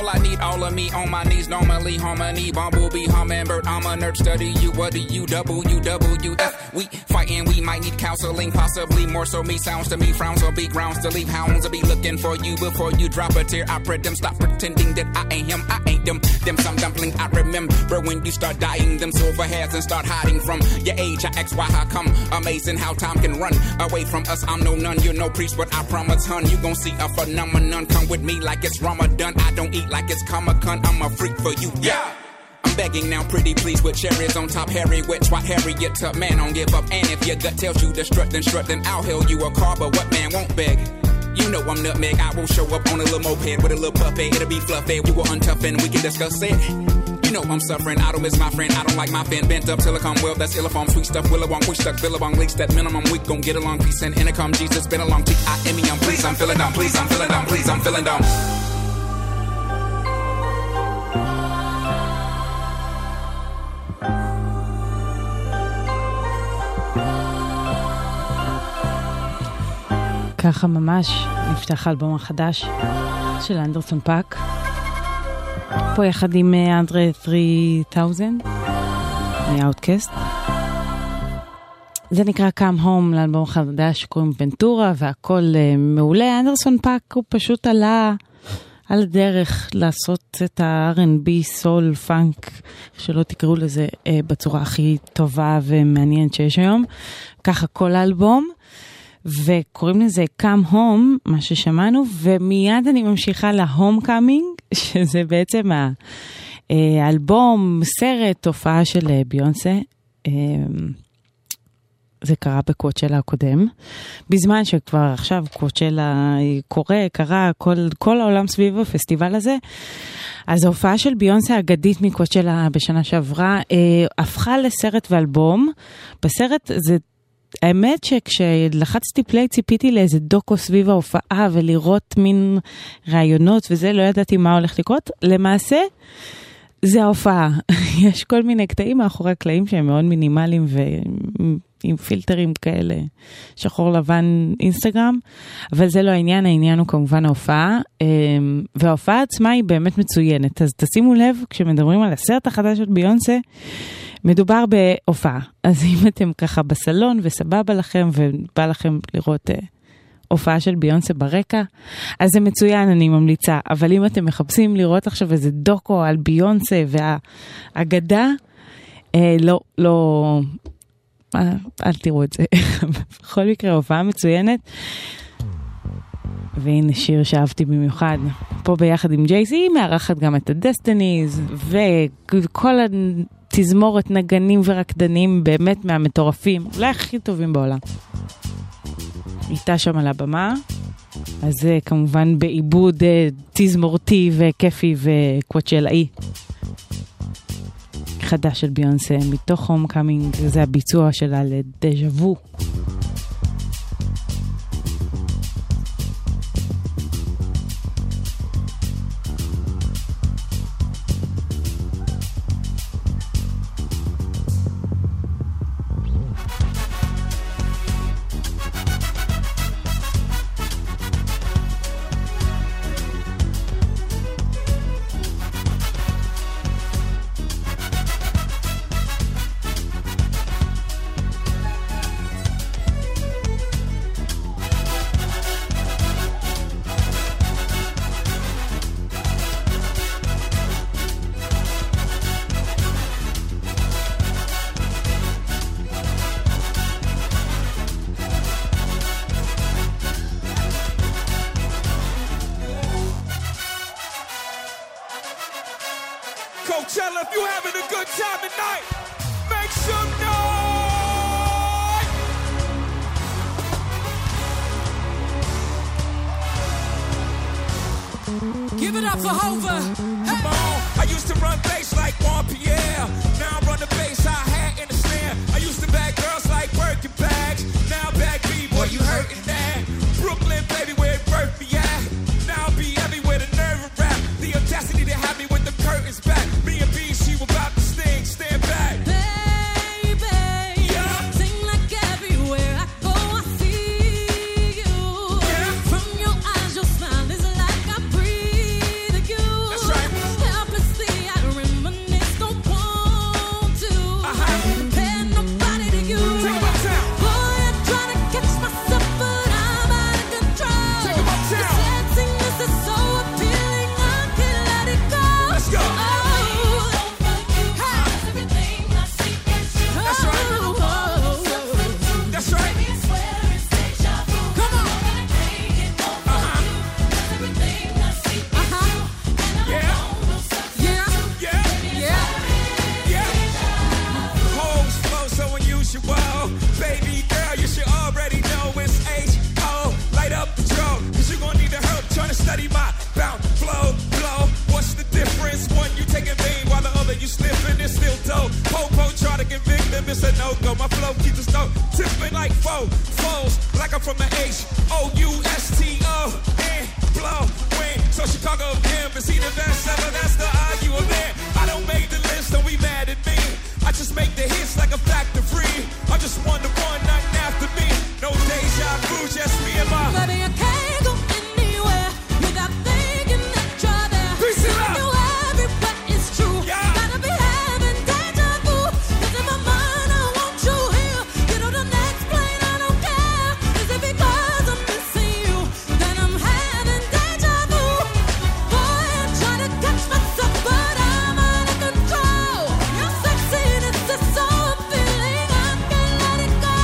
I need all of me on my knees. Normally harmony, bumblebee, hummingbird. I'm a nerd, study you. What do you WWF? We fighting, we might need counseling, possibly more so me. Sounds to me, frowns will be grounds to leave. Hounds will be looking for you before you drop a tear. I pray them stop pretending that I ain't him, I ain't them. Them some dumpling I remember when you start dying. Them silver hairs and start hiding from your age. I ask why, how come? Amazing how time can run away from us. I'm no nun, you're no priest, but I promise, hun, you gon' see a phenomenon. Come with me like it's Ramadan. I don't eat like it's Comic-Con. I'm a freak for you, yeah. I'm begging now, pretty please, with cherries on top. Harry, wet, swat, Harriet, tough man, don't give up. And if your gut tells you to strut, then I'll hail you a car. But what man won't beg? You know I'm nutmeg. I will show up on a little moped with a little puppet. It'll be fluffy. You will untough and we can discuss it. You know I'm suffering. I don't miss my friend. I don't like my fan. Bent up silicone well. That's illifon. Sweet stuff. Willowong. We stuck. Billabong. Leaks that minimum. We gon' get along. Peace and intercom. Jesus been along. T-I-M-E. I'm please. I'm feeling dumb. Please. I'm feeling dumb. Please. I'm feeling dumb. ככה ממש נפתח האלבום החדש של אנדרסון פאק. פה יחד עם אנדרה 3000 מאוטקאסט. זה נקרא Come Home, לאלבום החדש שקוראים ונטורה, והכל מעולה. אנדרסון פאק הוא פשוט עלה על הדרך לעשות את ה-R&B, סול, פאנק, שלא תקראו לזה, בצורה הכי טובה ומעניינת שיש היום. ככה כל האלבום. וקוראים לזה Come Home, מה ששמענו, ומיד אני ממשיכה ל-Homecoming, שזה בעצם האלבום, סרט, תופעה של ביונסה. זה קרה בקואצ'לה הקודם, בזמן שכבר עכשיו קואצ'לה קרה, כל העולם סביב הפסטיבל הזה. אז ההופעה של ביונסה האגדית מקואצ'לה בשנה שעברה, הפכה לסרט ואלבום. בסרט זה האמת שכשלחצתי פליי ציפיתי לאיזה דוקו סביב ההופעה ולראות מין רעיונות וזה, לא ידעתי מה הולך לקרות. למעשה זה ההופעה. יש כל מיני קטעים מאחורי הקלעים שהם מאוד מינימליים ועם פילטרים כאלה, שחור לבן אינסטגרם, אבל זה לא העניין, העניין הוא כמובן ההופעה, וההופעה עצמה היא באמת מצוינת. אז תשימו לב, כשמדברים על הסרט החדש של ביונסה, מדובר בהופעה. אז אם אתם ככה בסלון וסבבה לכם ובא לכם לראות הופעה של ביונסה ברקע, אז זה מצוין, אני ממליצה. אבל אם אתם מחפשים לראות עכשיו איזה דוקו על ביונסה והאגדה, לא, אל תראו את זה. בכל מקרה, הופעה מצוינת. והנה שיר שאהבתי במיוחד. פה ביחד עם ג'ייסי, מארחת גם את הדסטיניז, וכל תזמורת נגנים ורקדנים באמת מהמטורפים, אולי הכי טובים בעולם. איתה שם על הבמה, אז זה כמובן בעיבוד תזמורתי וכיפי וקואצ'לאי. חדש של ביונסה, מתוך הומקאמינג, זה הביצוע שלה לדז'ה וו. Coachella, if you having a good time tonight, make some noise! Give it up for Hova. Hey. Come on, I used to run bass like Juan Pierre. Now I run the bass, I had in the snare. I used to bag girls like working bags. Now I bag B-boy, you hurting that. Brooklyn, baby, where it birthed me at. Now I'll be everywhere, the nerve of rap. The audacity to have me with the curtains back. Me and B, she was about to sting, stand back. Baby, yeah. Sing like everywhere I go, I see you. Yeah. From your eyes, your smile is like I breathe you. That's right, that's the argument. I don't make the list, don't be mad at me. I just make the hits like a factor free. I'm just one to one, nothing after me. No deja vu, just me and my. Baby, I can't go anywhere without thinking that you're there. Peace it Seeing up. you everywhere is true. Gotta be having deja vu. 'Cause in my mind I want you here. Get on the next plane, I don't care. Is it because I'm missing you? Then I'm having deja vu. Boy, I try to catch myself, but I'm out of control. Your sexiness is so appealing, I can't let it go.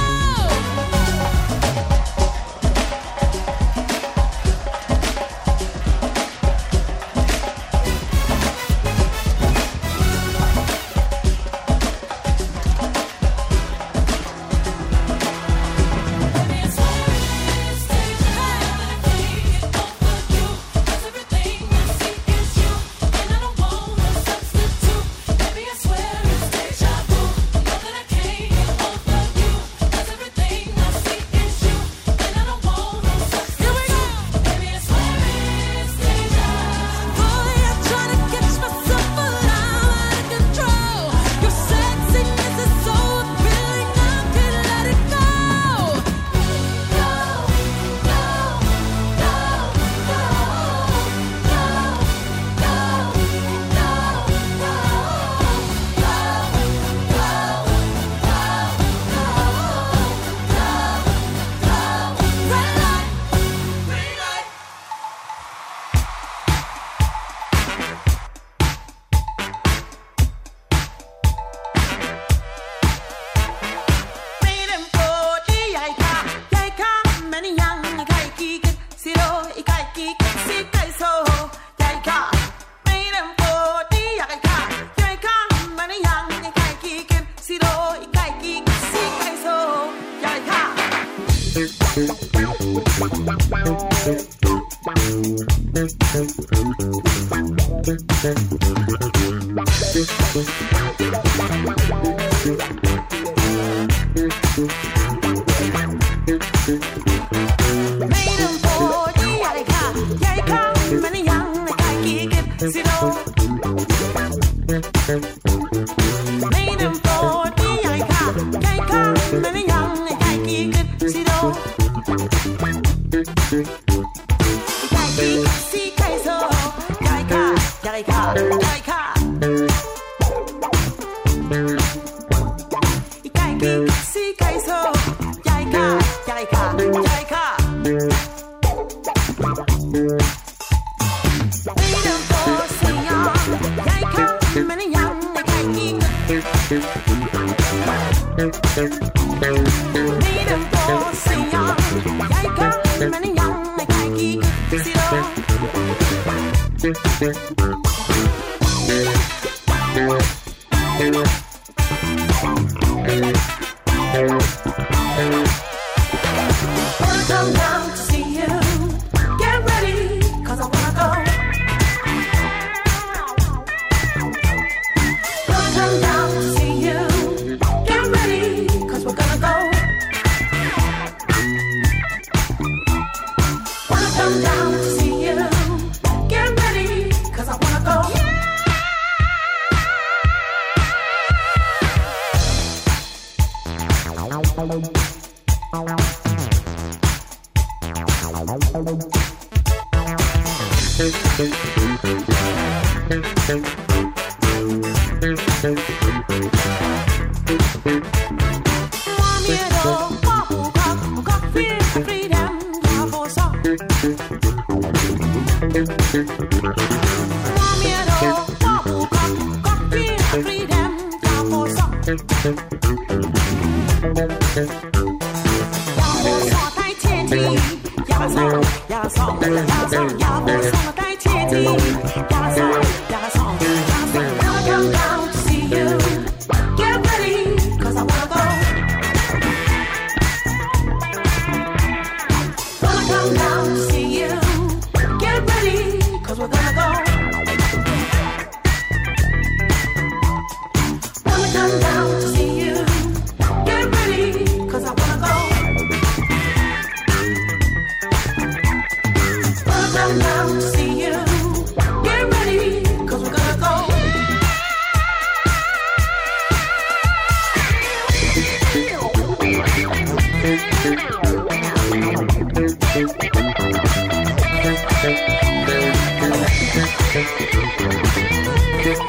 Get ready.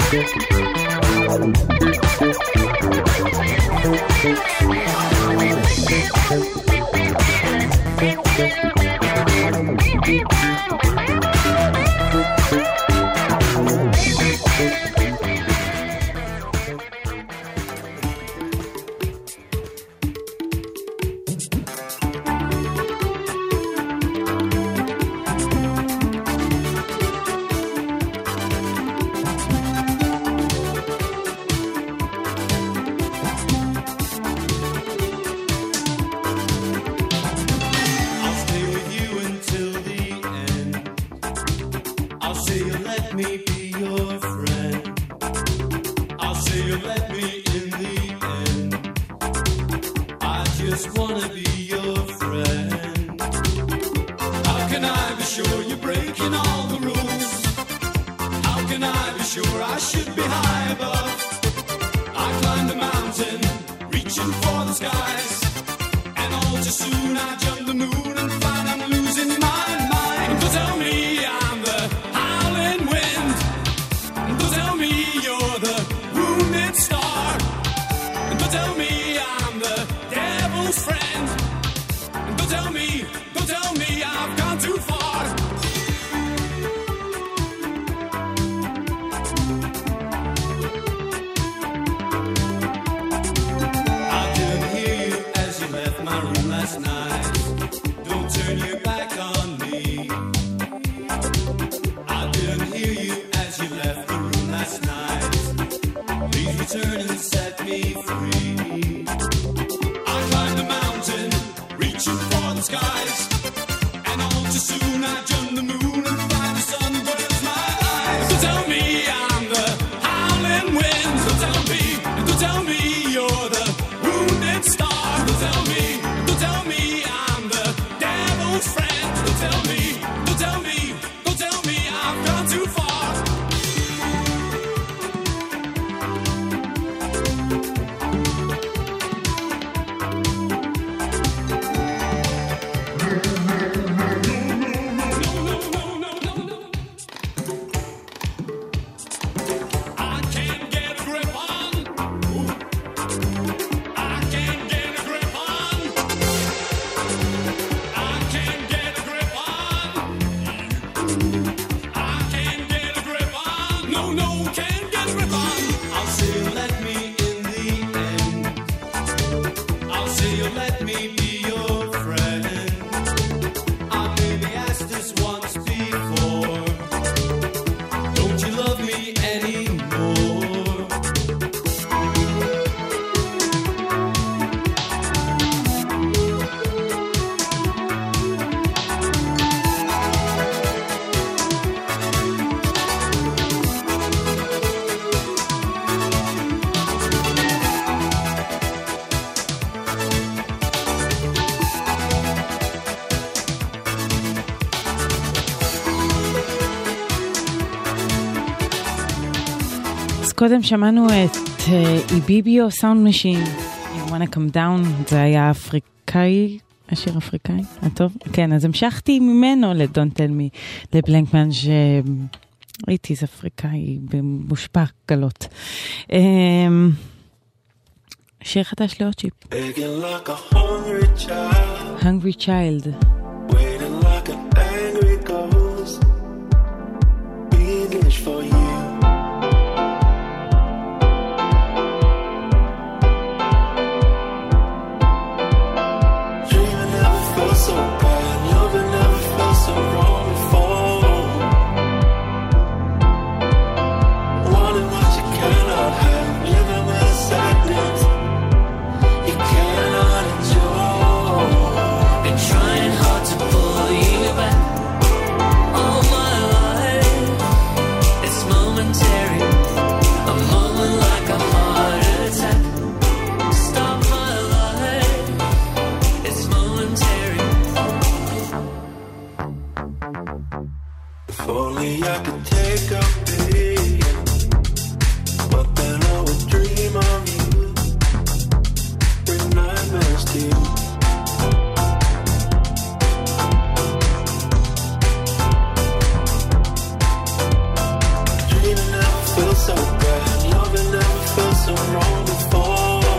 קודם שמענו את איביביו סאונד משין, You Wanna Come Down, זה היה אפריקאי, השיר אפריקאי, טוב? כן, אז המשכתי ממנו לדון טלמי, לבלנקמן, שראיתי זה אפריקאי במושפע גלות. שיר חדש לאוצ'יפ. Like a hungry child, Hungry Child. waiting like an angry ghost, English for you. Dreaming never felt so bad, loving never felt so wrong before. Wanting what you cannot have, living with sadness you cannot enjoy. Been trying hard to pull you back all my life. It's momentary, a moment like a heart attack. Stop my life, it's momentary. If only I could take a peek, but then I would dream of you. Bring nightmares to you. Dreaming never felt so bad. Loving never felt so wrong before.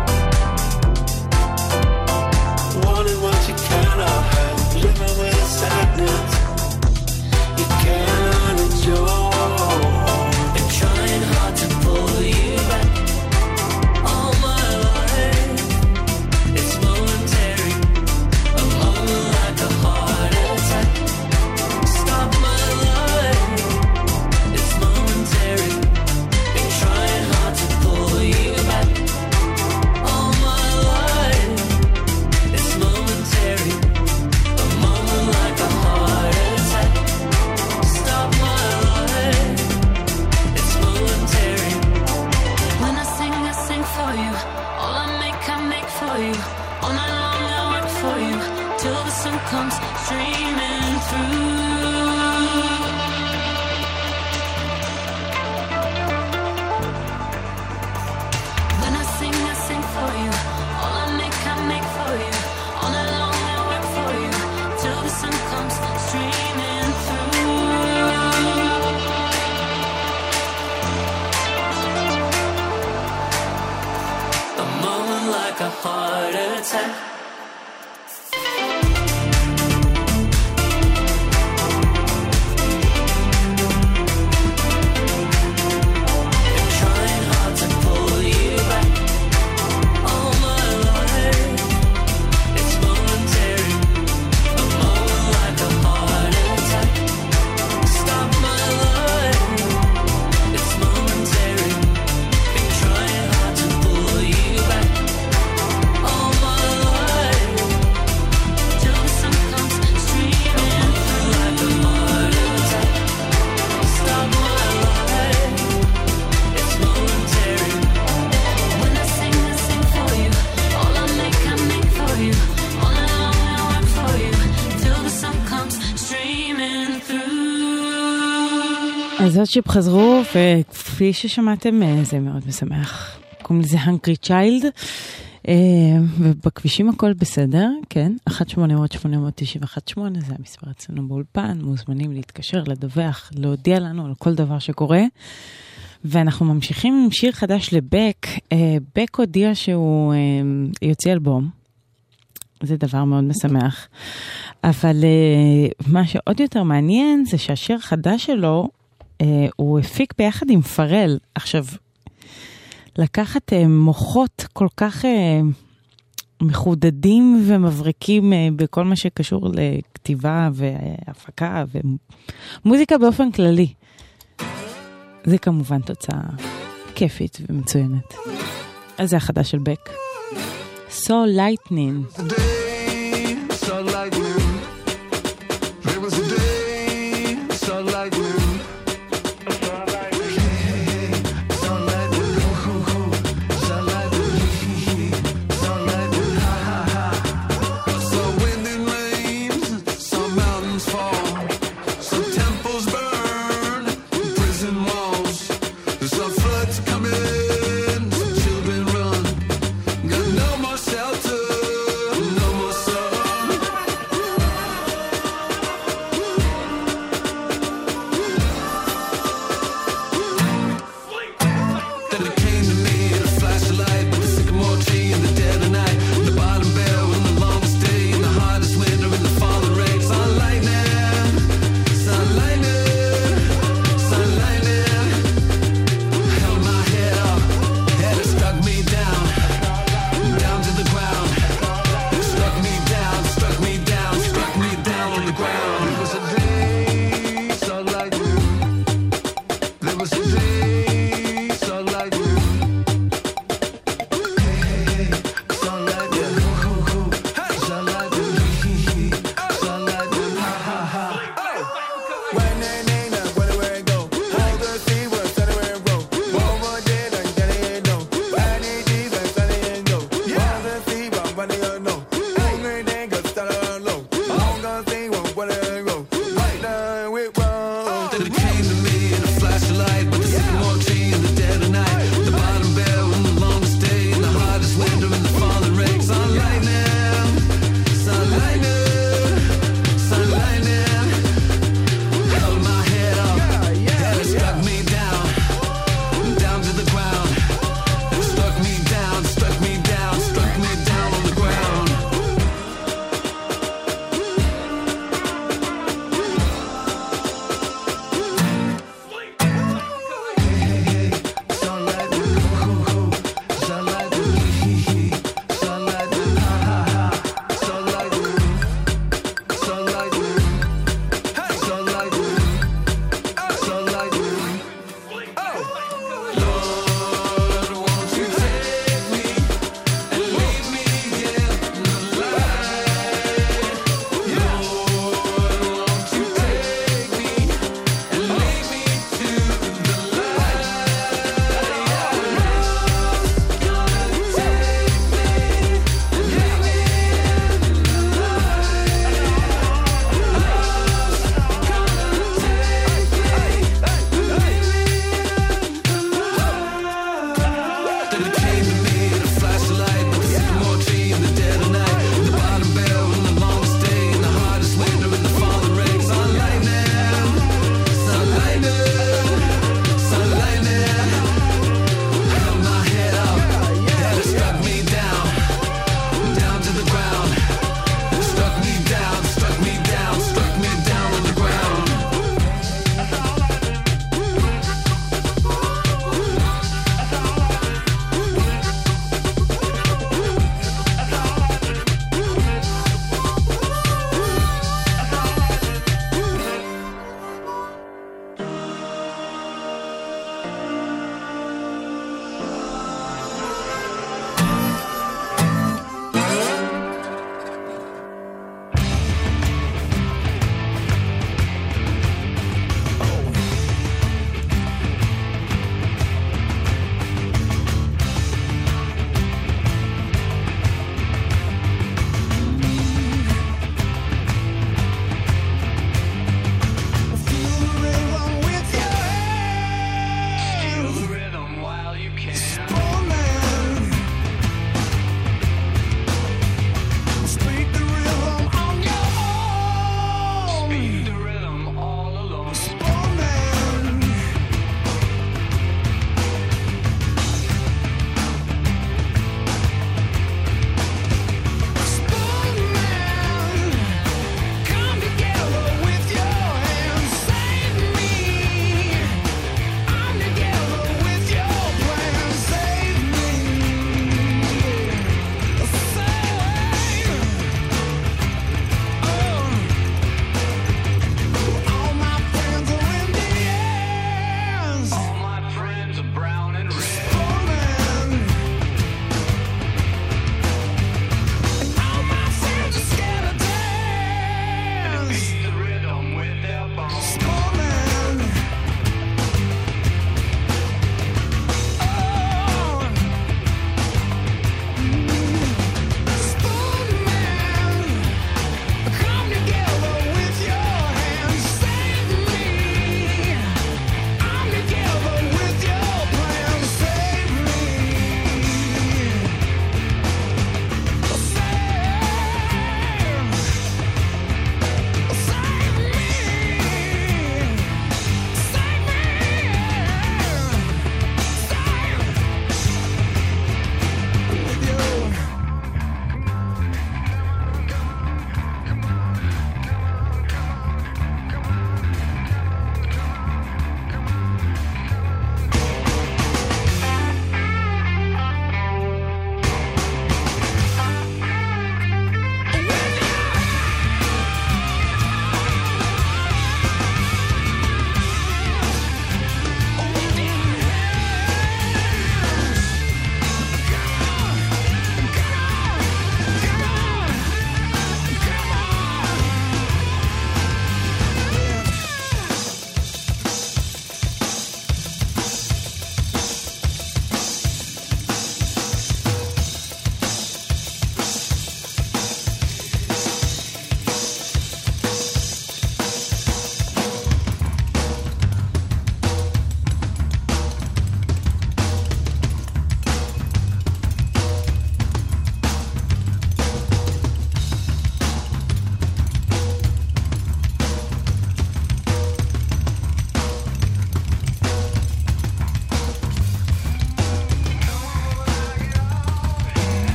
Wanting what you cannot have, living with sadness you cannot endure, and trying hard to pull you back. All my life, it's momentary, a moment like a heart attack. Stop my life, it's momentary, been trying hard to pull you back. All my life, it's momentary, a moment like a heart attack. Stop my life, it's momentary. When I sing for you. All I make for you. All night long I work for you, till the sun comes streaming through. When I sing for you. All I make for you. All night long I work for you, till the sun comes streaming through. A moment like a heart attack. Been trying hard to pull you back. All my life, it's momentary. A moment like a heart attack. Stop my life, it's momentary. Been trying hard to pull you back. All my life, till the sun comes streaming through like a heart attack. Stop my life, it's momentary. When I sing for you. All I make for you. All night long I work for you, till the sun comes streaming through. אז עוד שיפ חזרו, וכפי ששמעתם, זה מאוד משמח. קוראים לזה הנקרי צ'יילד, ובכבישים הכל בסדר, כן? 1-800-891-8, זה המספר אצלנו באולפן, מוזמנים להתקשר, לדווח, להודיע לנו על כל דבר שקורה. ואנחנו ממשיכים עם שיר חדש לבק. בק הודיע שהוא יוצא אלבום. זה דבר מאוד משמח. אבל מה שעוד יותר מעניין זה שהשיר החדש שלו, הוא הפיק ביחד עם פרל. עכשיו, לקחת מוחות כל כך מחודדים ומבריקים בכל מה שקשור לכתיבה והפקה ומוזיקה באופן כללי. זה כמובן תוצאה כיפית ומצוינת. אז זה החדש של בק. So Lightning. So lightning. There was a day, so lightning. So lightning. So lightning. So lightning. So wind and rains, some mountains fall, some temples burn, prison walls. Some floods come in, some children run. Got no more shelter, no more sun. Then it came to me in a flash of light, with the sycamore tree in the dead of night, the bottom bell in the longest day, in the hardest winter, in the falling rain. Sun lightning, sun lightning, sun lightning. Held my head up, and it struck me down, down to the ground. It struck me down, struck me down, struck me down on the ground. It was a day so lightning. There was a day so lightning. Hey, so lightning. So lightning. So lightning. Ha ha ha. When they name it, where it go? Hold the sea, where set it and roll. Over there, and get it no. When it deep, and set it and go. Hold the sea, but when they know. Hungry, they go start on low. Hold the sea, where it go. Right now, we roll. Then it came to me in a flash of light, with the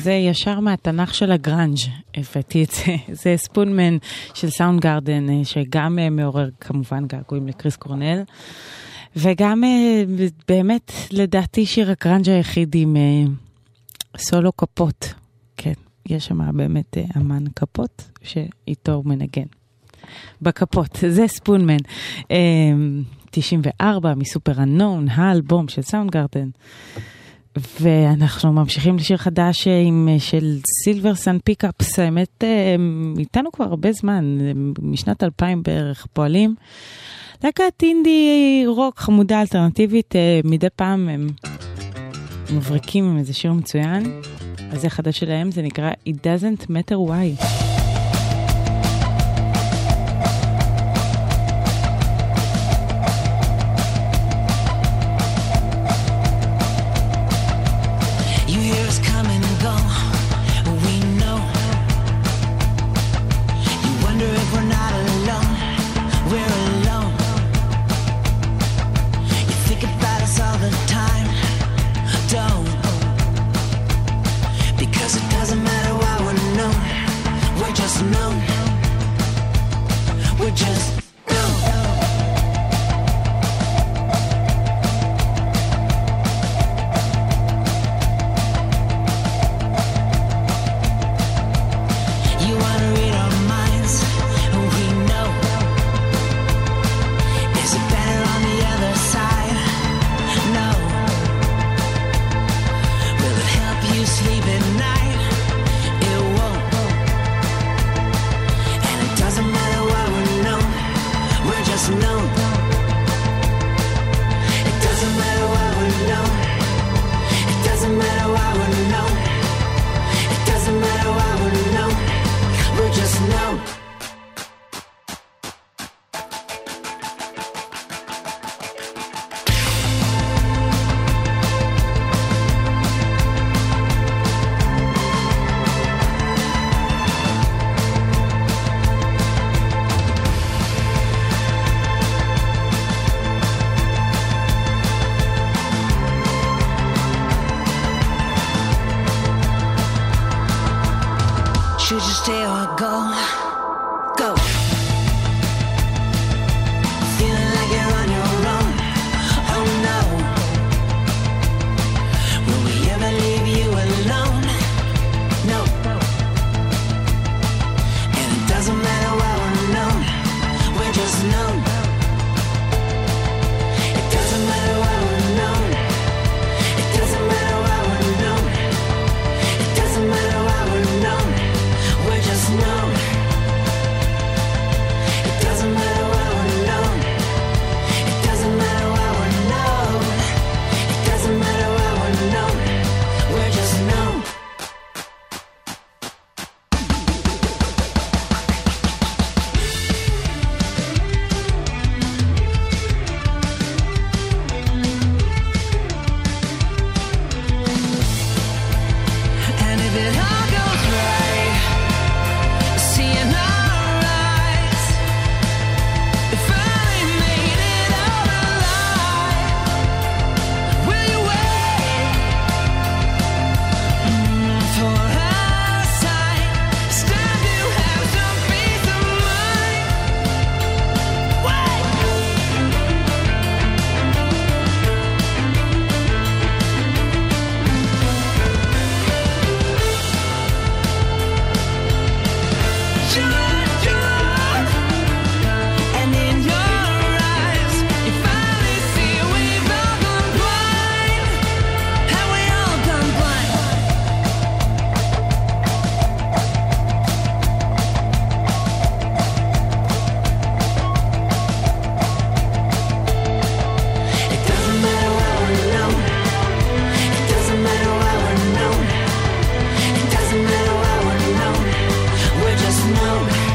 זה ישר מהתנ"ך של הגרנג' הבאתי את זה. זה ספונמן של סאונד גארדן, שגם מעורר כמובן געגועים לקריס קורנל, וגם באמת לדעתי שיר הגרנג' היחיד עם סולו כפות. כן, יש שם באמת אמן כפות שאיתו הוא מנגן. בכפות, זה ספונמן. 94 מסופר אנון, האלבום של סאונד גארדן. ואנחנו ממשיכים לשיר חדש של סילבר סן פיקאפס, האמת איתנו כבר הרבה זמן, משנת 2000 בערך פועלים. להקת אינדי רוק חמודה אלטרנטיבית, מדי פעם הם מבריקים עם איזה שיר מצוין. אז זה חדש שלהם, זה נקרא It Doesn't Matter Why. Should you stay or go? Go. Feeling like you're on your own. Oh no. Will we ever leave you alone? No. And it doesn't matter why we're known. We're just known. It doesn't matter why we're known. It doesn't matter why we're known. It doesn't matter why we're known. We're just known. It doesn't matter why we're known. It doesn't matter why we're known. It doesn't matter why we're known. We're just known. And if it all goes right, seeing our eyes, if I made it out alive, will you wait for our sight? Stand to have some peace of mind. And in your eyes, you finally see we've all gone blind. Have we all gone blind? It doesn't matter why we're known. It doesn't matter why we're known. It doesn't matter why we're known. We're just known.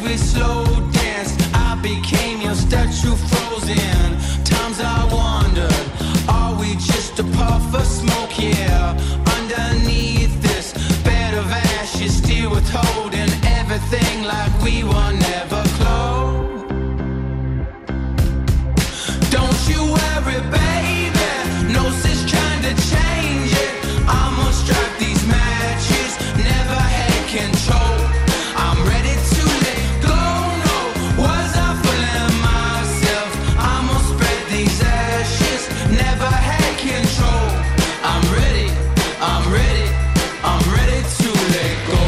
we slow danced, I became your statue frozen. Times I wondered, are we just a puff of smoke? Yeah, underneath this bed of ashes, still withholding everything like we were never close. Don't you worry, baby, no sense trying to change it. I'ma strike these matches, never had control. I'm ready to let go, no, was I fooling myself? I'ma spread these ashes, never had control. I'm ready, I'm ready, I'm ready to let go.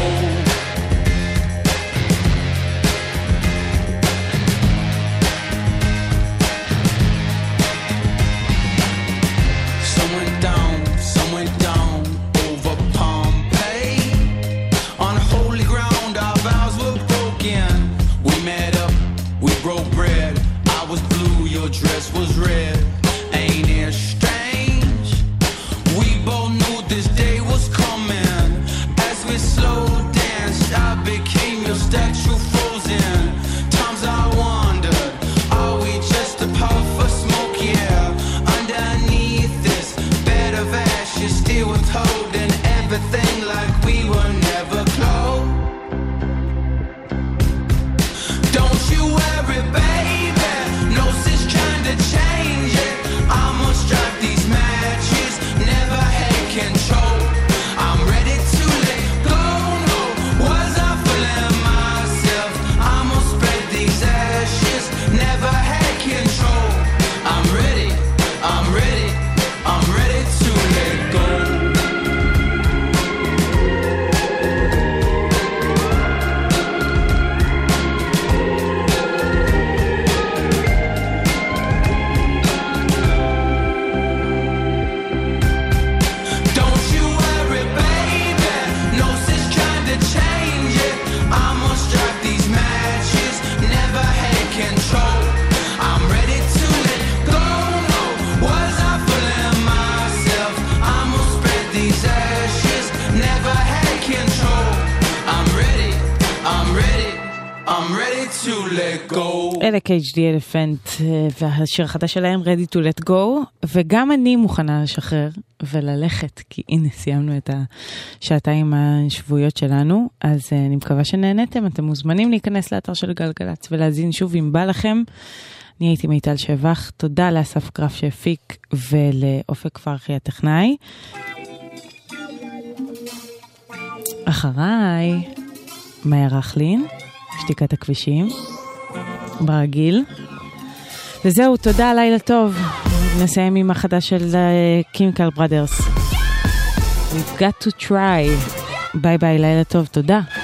Some went down over Pompeii. On holy ground, our vows were broken. We met up, we broke bread. I was blue, your dress was red. Ain't it strange? We both knew this day was coming. As we slow danced, I became your statue frozen. Times I wondered, are we just a puff of smoke? Yeah, underneath this bed of ashes, still withholding everything like we were never close. Don't you worry, baby, no sense trying to change it. I'ma strike these matches, never had control. I'm ready to let go, no, was I fooling myself? I'ma spread these ashes, never had control. I'm ready, I'm ready, I'm ready to let go. Don't you worry, baby, no sense trying to change it. I'ma strike these matches, never had control. I'm ready to let go, no, was I fooling myself? I'ma spread these ashes, never had control. I'm ready, I'm ready, I'm ready to let go. אלה KHD אלפנט והשיר החדש שלהם Ready to let go, וגם אני מוכנה לשחרר וללכת, כי הנה סיימנו את השעתיים השבועיות שלנו. אז אני מקווה שנהנתם. אתם מוזמנים להיכנס לאתר של גלגלץ ולהזין שוב אם בא לכם. אני הייתי מיטל שבח, תודה לאסף קרף שהפיק ולאופק פרחי הטכנאי. אחריי מאיה רכלין, שתיקת הכבישים ברגיל. וזהו, תודה, לילה טוב. נסיים עם החדש של Chemical Brothers. We've got to try. ביי ביי, לילה טוב, תודה.